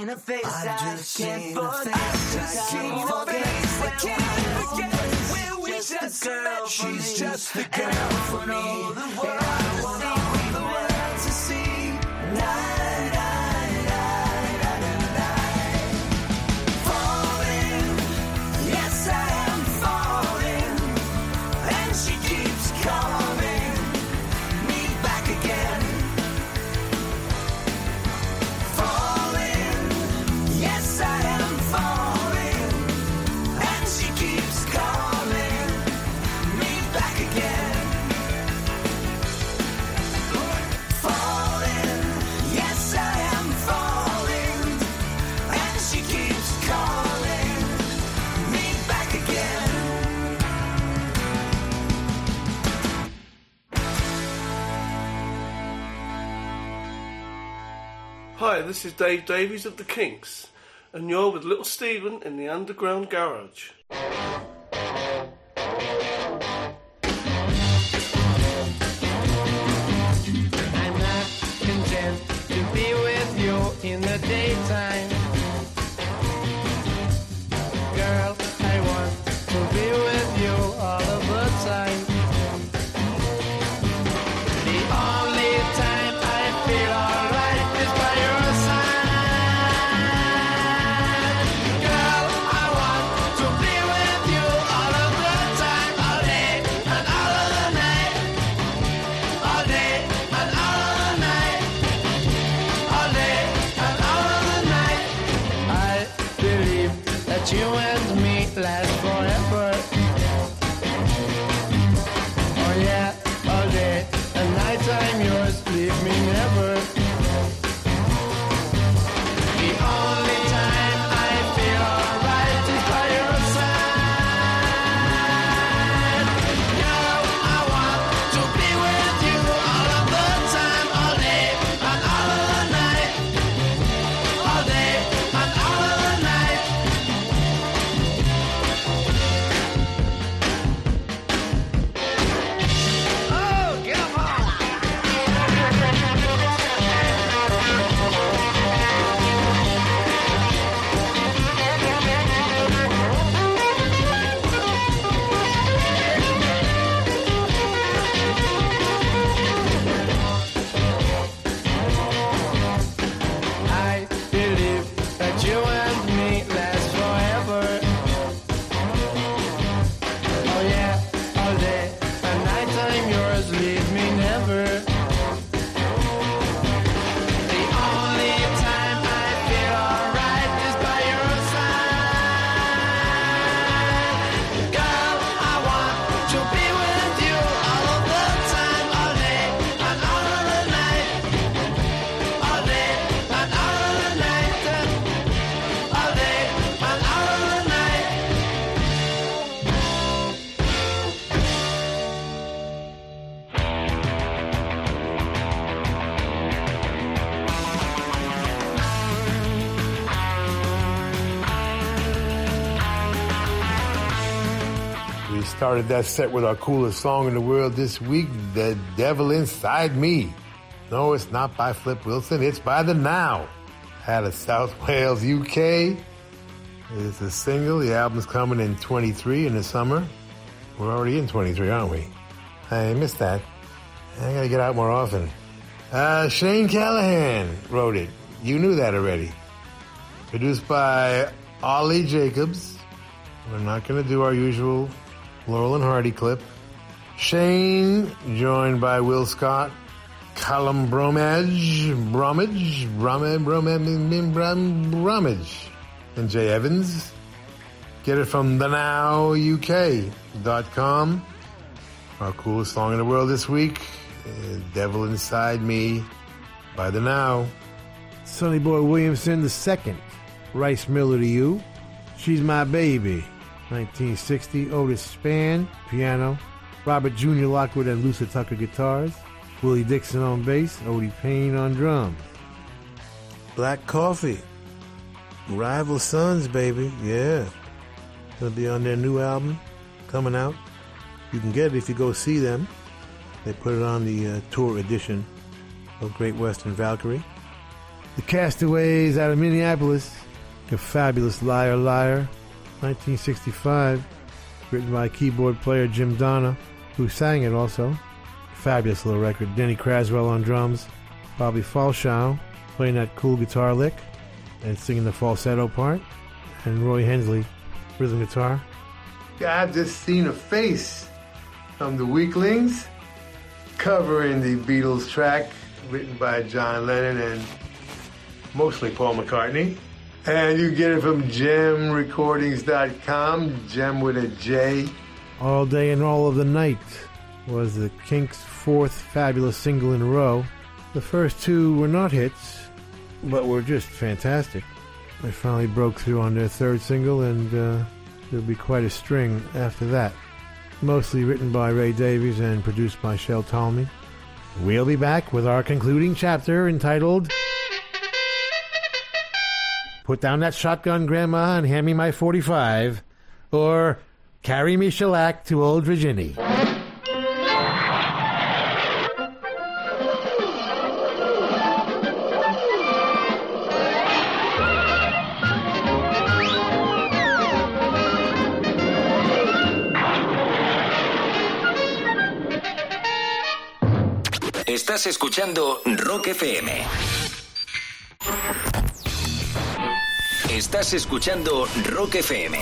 seen a face I, I just can't forget. I just seen a face I can't forget. Where we just met, she's just the girl for me. And I want all the world to see. Night, night, night, night, night. Falling, yes I am falling, and she keeps calling me back again. Falling, yes I am falling, and she keeps calling me back again. Falling, yes I am falling, and she keeps calling me back again. Hi, this is Dave Davies of the Kinks, and you're with Little Steven in the Underground Garage. I'm not content to be with you in the daytime. Girl, I want to be with you all of the time. The only time I feel alright is by your side. Girl, I want to be with you all of the time, all day and all of the night. All day and all of the night. All day and all of the night. I believe that you and me last forever. Oh yeah, all day and night I'm yours, leave me never. The only time I feel alright is by your side. Girl, I want to be with you all of the time, all day and all of the night. All day and all of the night. Oh, come on. I believe that you and me last forever. Oh yeah, all day and night I'm yours, leave me never. The only time I feel alright is by your side. Girl, I want to be with you all of the time, all day and all of the night. All day and all of the night. All day and all of the night. We started that set with our coolest song in the world this week, The Devil Inside Me. No, it's not by Flip Wilson, it's by The Now. Out of South Wales, U K. It's a single. The album's coming in twenty-three in the summer. We're already in twenty-three, aren't we? I missed that. I gotta get out more often. Uh, Shane Callahan wrote it. You knew that already. Produced by Ollie Jacobs. We're not gonna do our usual Laurel and Hardy clip. Shane, joined by Will Scott, Callum Bromage, Bromage, Bromage, Bromage, Bromage, Bromage, and Jay Evans. Get it from the now U K dot com. Our coolest song in the world this week, uh, Devil Inside Me by The Now. Sonny Boy Williamson the second, Rice Miller to You. She's My Baby, nineteen sixty, Otis Spann, piano. Robert Junior Lockwood and Lucy Tucker guitars. Willie Dixon on bass, Odie Payne on drums. Black Coffee, Rival Sons, baby, yeah. It'll be on their new album coming out. You can get it if you go see them. They put it on the uh, tour edition of Great Western Valkyrie. The Castaways out of Minneapolis, A Fabulous Liar Liar, nineteen sixty-five, written by keyboard player Jim Donna, who sang it also. Fabulous little record. Denny Craswell on drums, Bobby Falshaw playing that cool guitar lick and singing the falsetto part, and Roy Hensley rhythm guitar. I've just seen a face from the Weaklings covering the Beatles track written by John Lennon and mostly Paul McCartney. And you get it from gem recordings dot com, Gem with a J. All Day and All of the Night was the Kinks' fourth fabulous single in a row. The first two were not hits, but were just fantastic. They finally broke through on their third single, and uh, there'll be quite a string after that. Mostly written by Ray Davies and produced by Shel Talmy. We'll be back with our concluding chapter entitled Put Down That Shotgun, Grandma, and Hand Me My forty-five, or Carry Me Shellac to Old Virginia. Estás escuchando Rock F M. Estás escuchando Rock F M.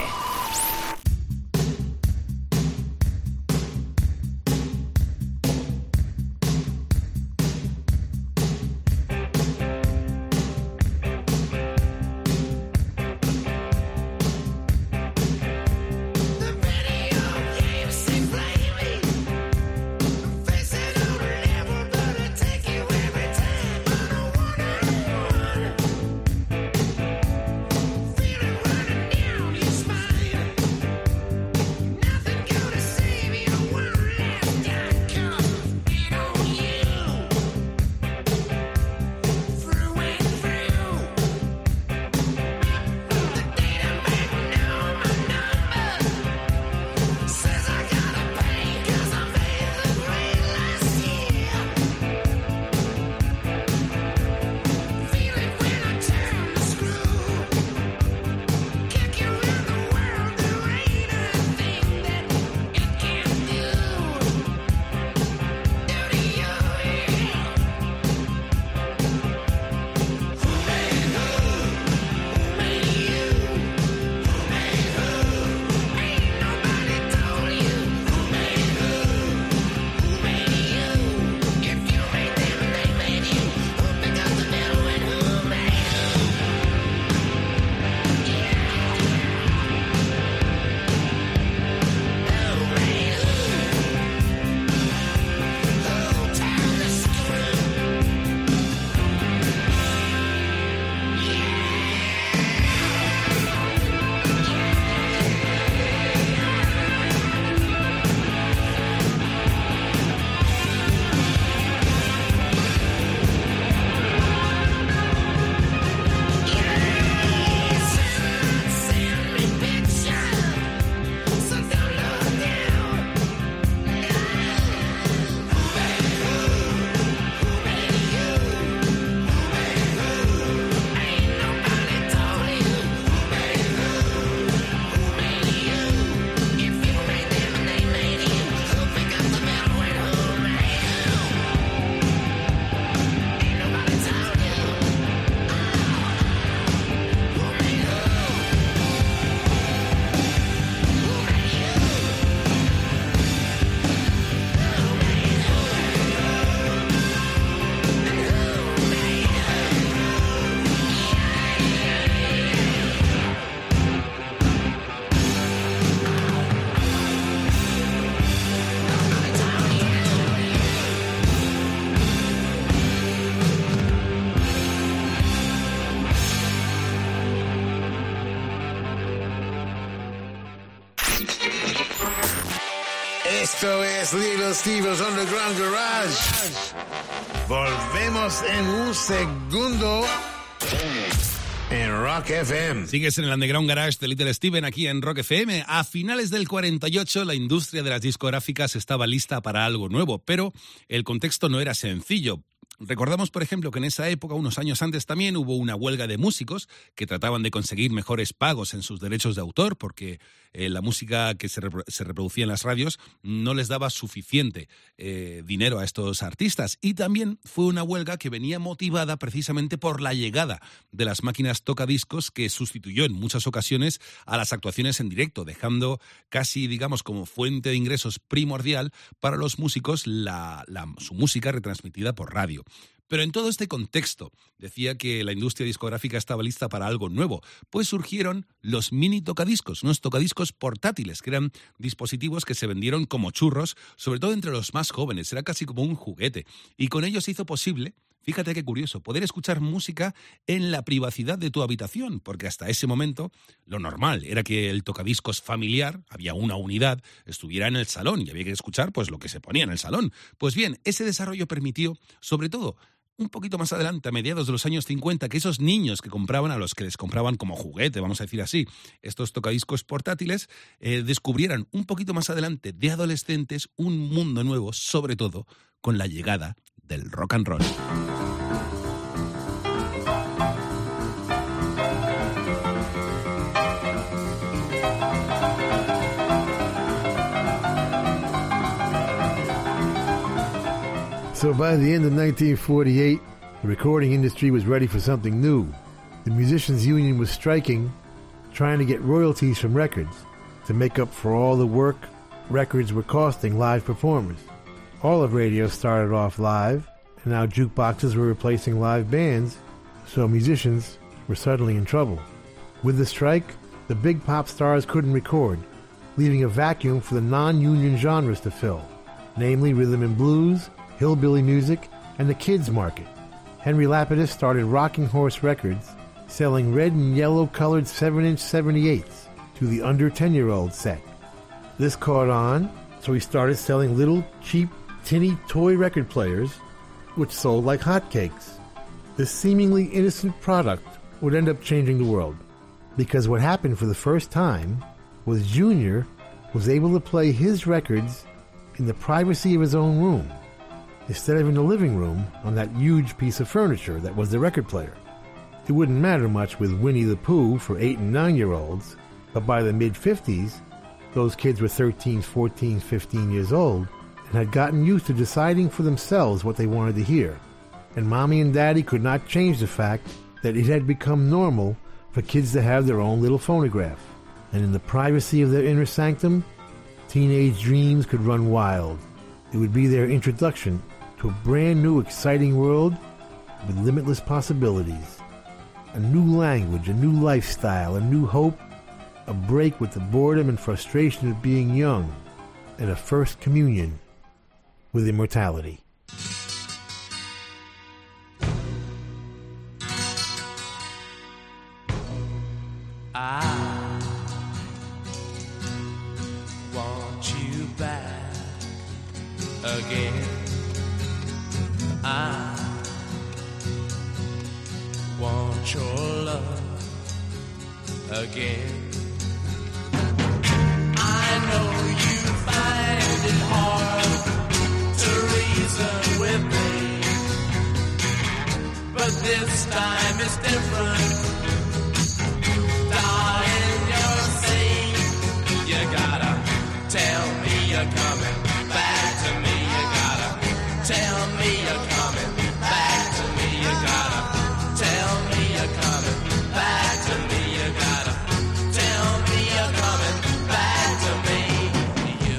Esto es Little Steven's Underground Garage. Volvemos en un segundo en Rock F M. Sigues en el Underground Garage de Little Steven aquí en Rock F M. A finales del cuarenta y ocho, la industria de las discográficas estaba lista para algo nuevo, pero el contexto no era sencillo. Recordamos, por ejemplo, que en esa época, unos años antes también, hubo una huelga de músicos que trataban de conseguir mejores pagos en sus derechos de autor porque eh, la música que se, repro- se reproducía en las radios no les daba suficiente eh, dinero a estos artistas. Y también fue una huelga que venía motivada precisamente por la llegada de las máquinas tocadiscos, que sustituyó en muchas ocasiones a las actuaciones en directo, dejando casi, digamos, como fuente de ingresos primordial para los músicos la, la, su música retransmitida por radio. Pero en todo este contexto, decía que la industria discográfica estaba lista para algo nuevo, pues surgieron los mini tocadiscos, unos tocadiscos portátiles, que eran dispositivos que se vendieron como churros, sobre todo entre los más jóvenes, era casi como un juguete. Y con ello se hizo posible, fíjate qué curioso, poder escuchar música en la privacidad de tu habitación, porque hasta ese momento lo normal era que el tocadiscos familiar, había una unidad, estuviera en el salón y había que escuchar pues lo que se ponía en el salón. Pues bien, ese desarrollo permitió, sobre todo, un poquito más adelante, a mediados de los años cincuenta, que esos niños que compraban, a los que les compraban como juguete, vamos a decir así, estos tocadiscos portátiles, eh, descubrieran un poquito más adelante de adolescentes un mundo nuevo, sobre todo con la llegada del rock and roll. So by the end of nineteen forty-eight, the recording industry was ready for something new. The musicians' union was striking, trying to get royalties from records to make up for all the work records were costing live performers. All of radio started off live, and now jukeboxes were replacing live bands, so musicians were suddenly in trouble. With the strike, the big pop stars couldn't record, leaving a vacuum for the non-union genres to fill, namely rhythm and blues, hillbilly music, and the kids market. Henry Lapidus started Rocking Horse Records, selling red and yellow colored seven-inch seventy-eights to the under ten-year-old set. This caught on, so he started selling little, cheap, tinny toy record players, which sold like hotcakes. This seemingly innocent product would end up changing the world, because what happened for the first time was Junior was able to play his records in the privacy of his own room, instead of in the living room on that huge piece of furniture that was the record player. It wouldn't matter much with Winnie the Pooh for eight and nine-year-olds, but by the mid-fifties, those kids were thirteen, fourteen, fifteen years old and had gotten used to deciding for themselves what they wanted to hear. And Mommy and Daddy could not change the fact that it had become normal for kids to have their own little phonograph. And in the privacy of their inner sanctum, teenage dreams could run wild. It would be their introduction to a brand new exciting world with limitless possibilities. A new language, a new lifestyle, a new hope, a break with the boredom and frustration of being young, and a first communion with immortality. I want you back again. I want your love again. I know you find it hard to reason with me, but this time it's different. Darling, you're saying you gotta tell me you're coming back to me. You gotta tell me you're coming back to me. You gotta tell me you're coming back to me. You gotta tell me you're coming back to me. You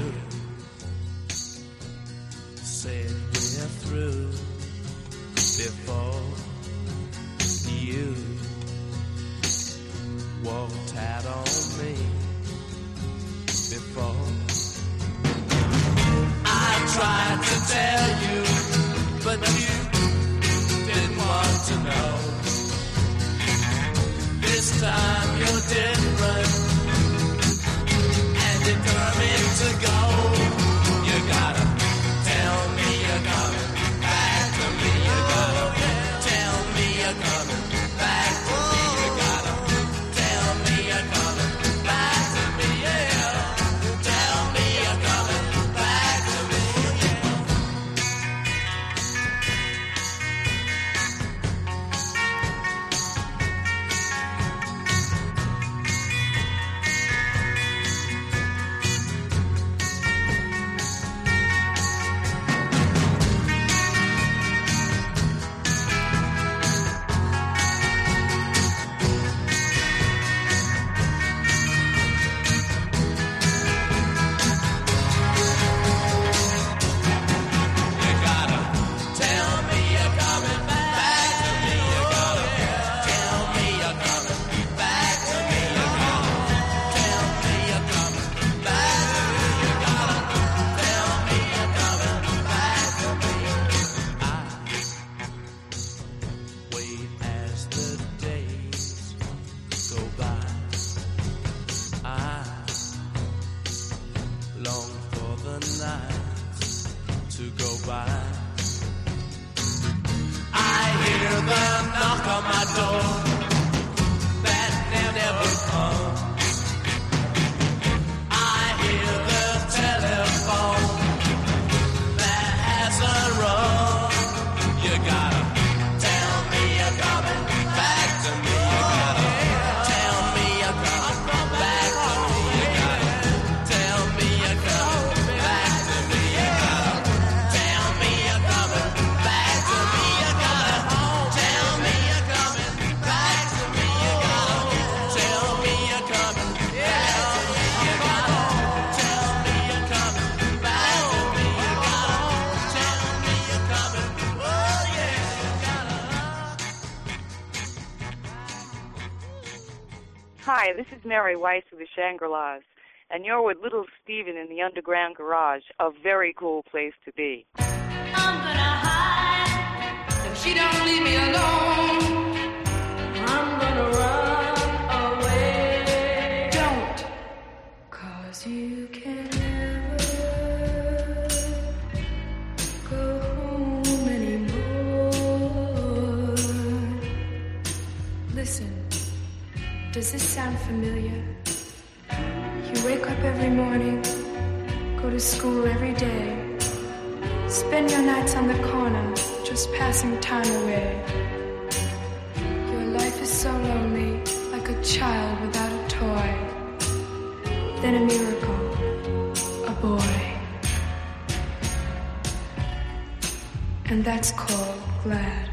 said we're through before you walked out on me before. I tried to tell you, but you didn't want to know. This time you're different and determined to go. You gotta tell me you're coming back to me. You gotta tell me you're coming back to me. You gotta tell me you're coming back to me. Yeah, tell me you're coming back to me. Yeah. why. I hear them knock on my door, that never, never come. I hear the telephone that hasn't rung. You gotta tell me you're coming back to me. You gotta tell me you're coming back to me. You gotta tell me you're coming back to me. You gotta tell me you're coming back to me. You gotta tell me you're coming back to me. You gotta tell me you're coming back to me. You gotta tell me you're coming back to me. You gotta tell me you're coming. Oh yeah, you gotta. Hi, this is Mary Weiss of the Shangri-Las, and you're with Little Steven in the Underground Garage, a very cool place to be. I'm gonna hide if she don't leave me alone. I'm gonna run away. Don't, 'cause you can never go home anymore. Listen, does this sound familiar? You wake up every morning, go to school every day, spend your nights on the corner, just passing time away. Your life is so lonely, like a child without a toy. Then a miracle, a boy. And that's called glad.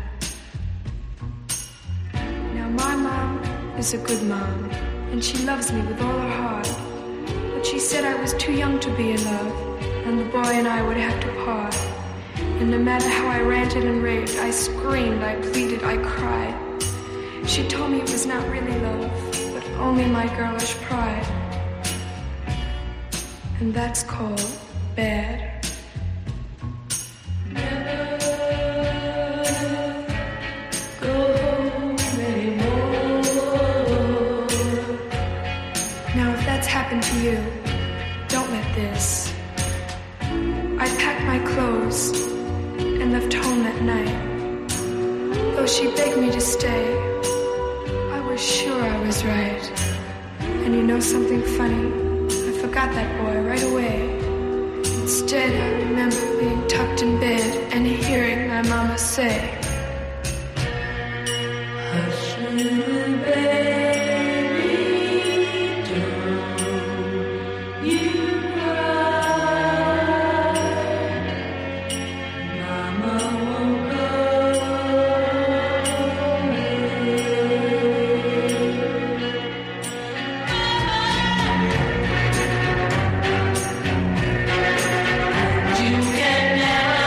Now my mom is a good mom, and she loves me with all her heart. But she said I was too young to be in love, and the boy and I would have to part. And no matter how I ranted and raved, I screamed, I pleaded, I cried. She told me it was not really love, but only my girlish pride. And that's called bad. Go home anymore. Now if that's happened to you, don't let this. I packed my clothes and left home that night. Though she begged me to stay, I was sure I was right. And you know something funny? I forgot that boy right away. Instead, I remember being tucked in bed and hearing my mama say, Hush, little baby, don't you cry. Mama won't go You can never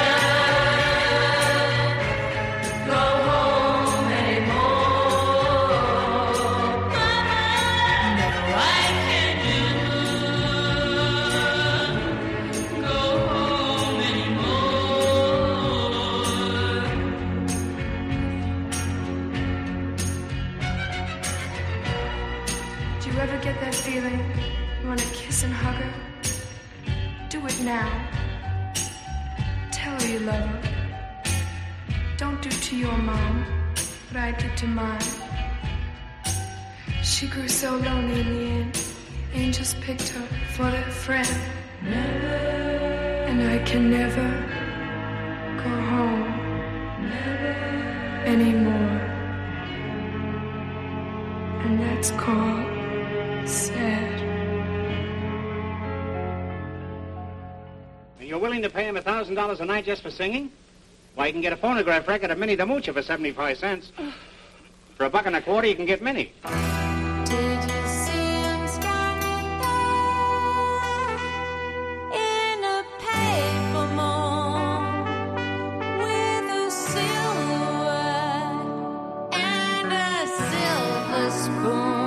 go home anymore. No, I can't do go home anymore. do you ever get that feeling? You want to kiss and hug her? Do it now. Tell her you love her. Don't do to your mom what I did to mine. She grew so lonely in the end. Angels picked her for their friend. And I can never go home anymore. And that's called sad. And you're willing to pay him a thousand dollars a night just for singing? Why, you can get a phonograph record of Minnie the Moocher for seventy-five cents. For a buck and a quarter, you can get Minnie. Did you see him standing there in a paper mold with a silhouette and a silver spoon?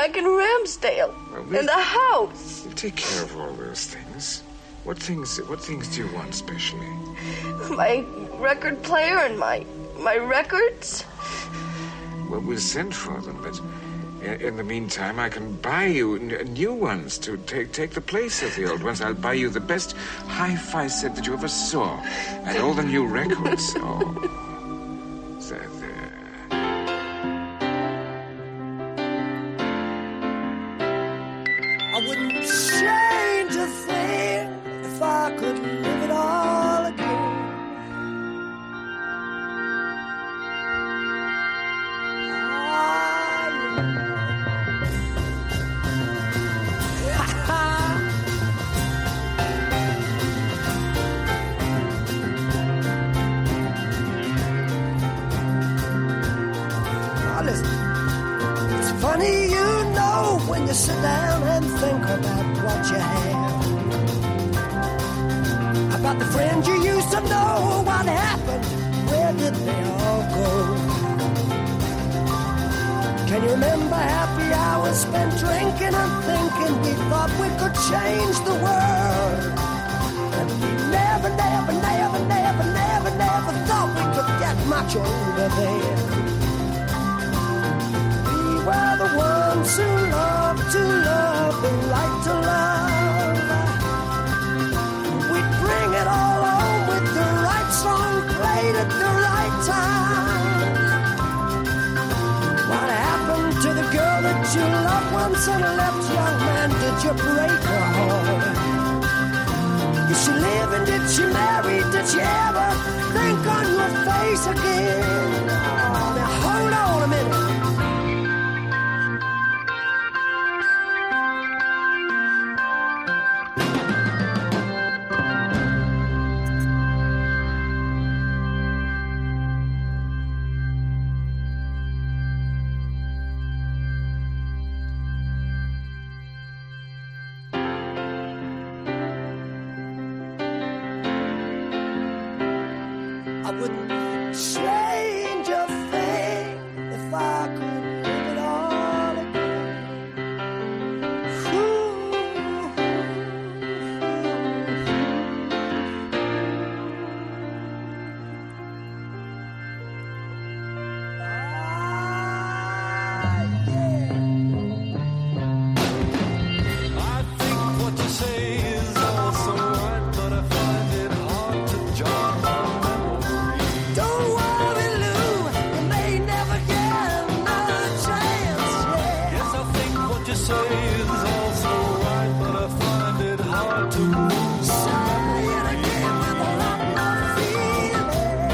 back in Ramsdale. Well, we- In the house. We'll take care of all those things. What things? What things do you want specially? My record player and my my records. Well, we'll send for them, but in, in the meantime, I can buy you n- new ones to take take the place of the old ones. I'll buy you the best hi-fi set that you ever saw, and all the new records. Oh, there, there. I wouldn't change a thing if I could live it all again. Now listen, it's funny, you know, when you sit down and think about what you have. About the friends you used to know, what happened, where did they all go? Can you remember happy hours spent drinking and thinking we thought we could change the world? And we never, never, never, never, never, never thought we could get much over there. We were the ones who loved to love and like to love. We'd bring it all home with the right song played at the right time. What happened to the girl that you loved once and left, young man? Did you break her heart? Did she live and did she marry? Did she ever think on your face again? Oh, now hold on a minute. I wouldn't change a thing if I could live it all again. I think what you say is also right, but I find it hard to jog my memory. Don't worry, Lou, you may never get another chance. Yeah. Yes, I think what you say is also right, but I find it hard to move. Say it again with a lot more feeling.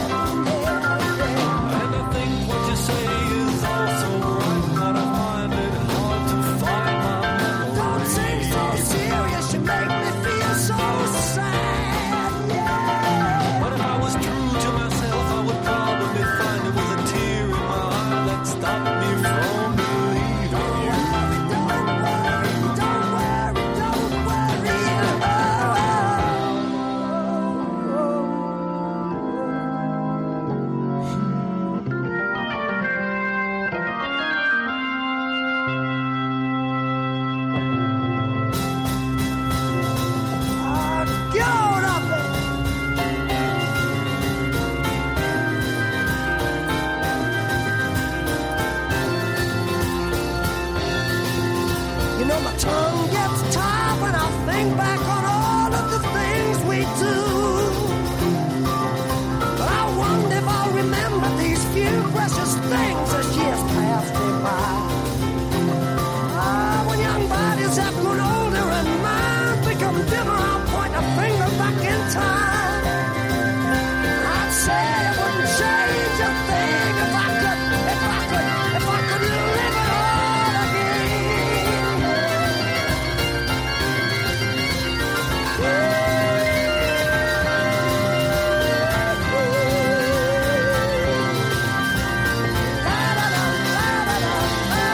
And I think what you say is also right, but I find it hard to find my memory. Don't seem so serious, you make me feel so sad. Yeah. But if I was true to myself, I would probably find it was a tear in my eye that stopped me from believing you. Don't worry, don't worry, don't worry. Oh, get on up there. You know my tongue gets tired when I think back on all of the things we do. But I wonder if I'll remember these few precious things as years pass me by. Ah, when young bodies have grown older and minds become dimmer, I'll point a finger back in time. I'd say I wouldn't change a thing if I could, if I could, if I could live it all again. La, la, la, la, la, la.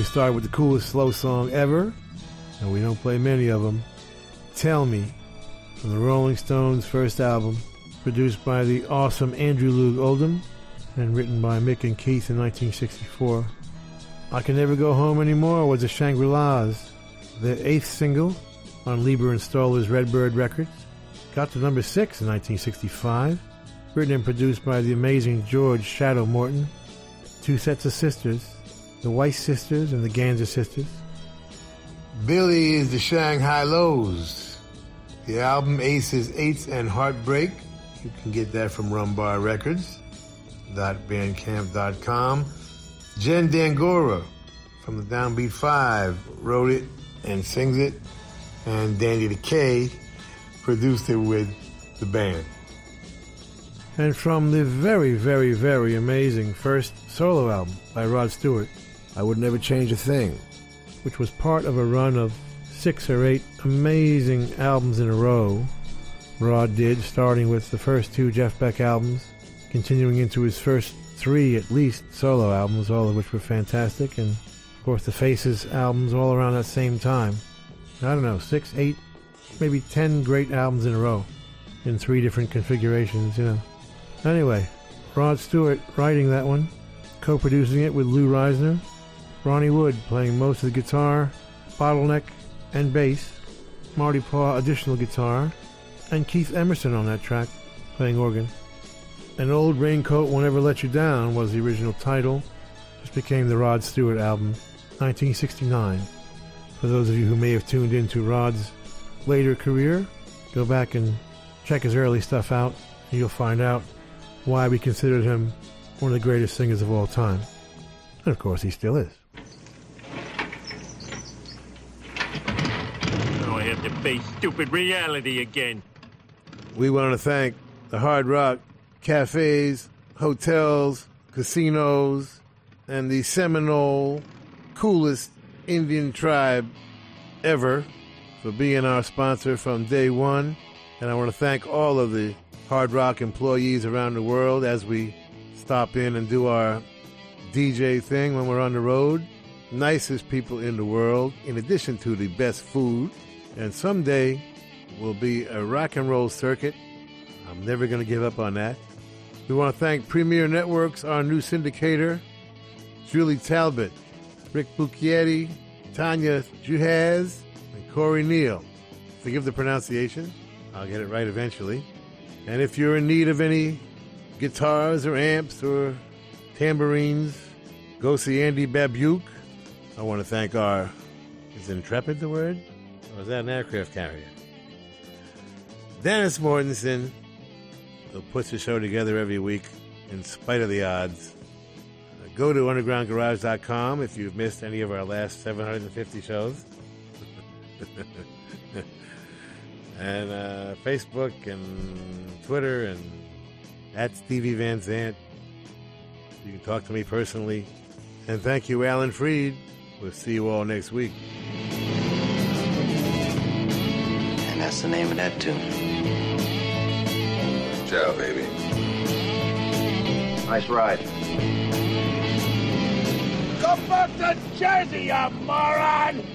we start with the coolest slow song ever, and we don't play many of them. Tell Me, from the Rolling Stones' first album, produced by the awesome Andrew Loog Oldham, and written by Mick and Keith in nineteen sixty-four. I Can Never Go Home Anymore was the Shangri-Las, their eighth single on Lieber and Stoller's Redbird Records. Got to number six in nineteen sixty-five, written and produced by the amazing George Shadow Morton. Two sets of sisters, the Weiss sisters and the Ganser sisters. Billy is the Shanghai Lows. The album Aces, Eights, and Heartbreak. You can get that from Rumbar Records dot bandcamp dot com. Jen Dangora from the Downbeat Five wrote it and sings it, and Danny the K produced it with the band. And from the very, very, very amazing first solo album by Rod Stewart, I Would Never Change a Thing, which was part of a run of six or eight amazing albums in a row Rod did, starting with the first two Jeff Beck albums, continuing into his first three, at least, solo albums, all of which were fantastic, and, of course, the Faces albums all around that same time. I don't know, six, eight, maybe ten great albums in a row, in three different configurations, you know. Anyway, Rod Stewart writing that one, co-producing it with Lou Reisner, Ronnie Wood playing most of the guitar, bottleneck, and bass, Marty Paw additional guitar, and Keith Emerson on that track, playing organ. An Old Raincoat Won't Ever Let You Down was the original title, which became the Rod Stewart album, nineteen sixty-nine. For those of you who may have tuned into Rod's later career, go back and check his early stuff out, and you'll find out why we considered him one of the greatest singers of all time. And of course, he still is. Now I have to face stupid reality again. We want to thank the Hard Rock cafes, hotels, casinos, and the Seminole coolest Indian tribe ever for being our sponsor from day one. And I want to thank all of the Hard Rock employees around the world as we stop in and do our D J thing when we're on the road. Nicest people in the world, in addition to the best food. And someday will be a rock and roll circuit. I'm never going to give up on that. We want to thank Premier Networks, our new syndicator, Julie Talbot, Rick Bucchietti, Tanya Juhaz, and Corey Neal. Forgive the pronunciation. I'll get it right eventually. And if you're in need of any guitars or amps or tambourines, go see Andy Babuke. I want to thank our, is Intrepid the word? Or is that an aircraft carrier? Dennis Mortensen, who puts the show together every week in spite of the odds. Uh, go to underground garage dot com if you've missed any of our last seven hundred fifty shows. and uh, Facebook and Twitter and at Stevie Van Zandt. You can talk to me personally. And thank you, Alan Freed. We'll see you all next week. And that's the name of that tune. Ciao, baby. Nice ride. Go back to Jersey, you moron!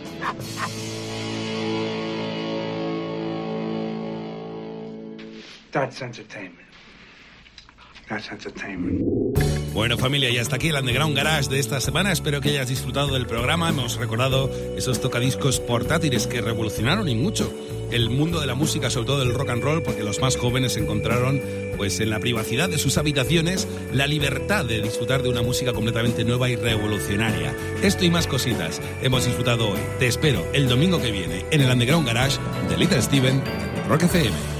That's entertainment. That's entertainment. Bueno, familia, y hasta aquí el Underground Garage de esta semana. Espero que hayas disfrutado del programa. Hemos recordado esos tocadiscos portátiles que revolucionaron y mucho el mundo de la música, sobre todo del rock and roll, porque los más jóvenes encontraron, pues, en la privacidad de sus habitaciones, la libertad de disfrutar de una música completamente nueva y revolucionaria. Esto y más cositas hemos disfrutado hoy. Te espero el domingo que viene en el Underground Garage de Little Steven, Rock F M.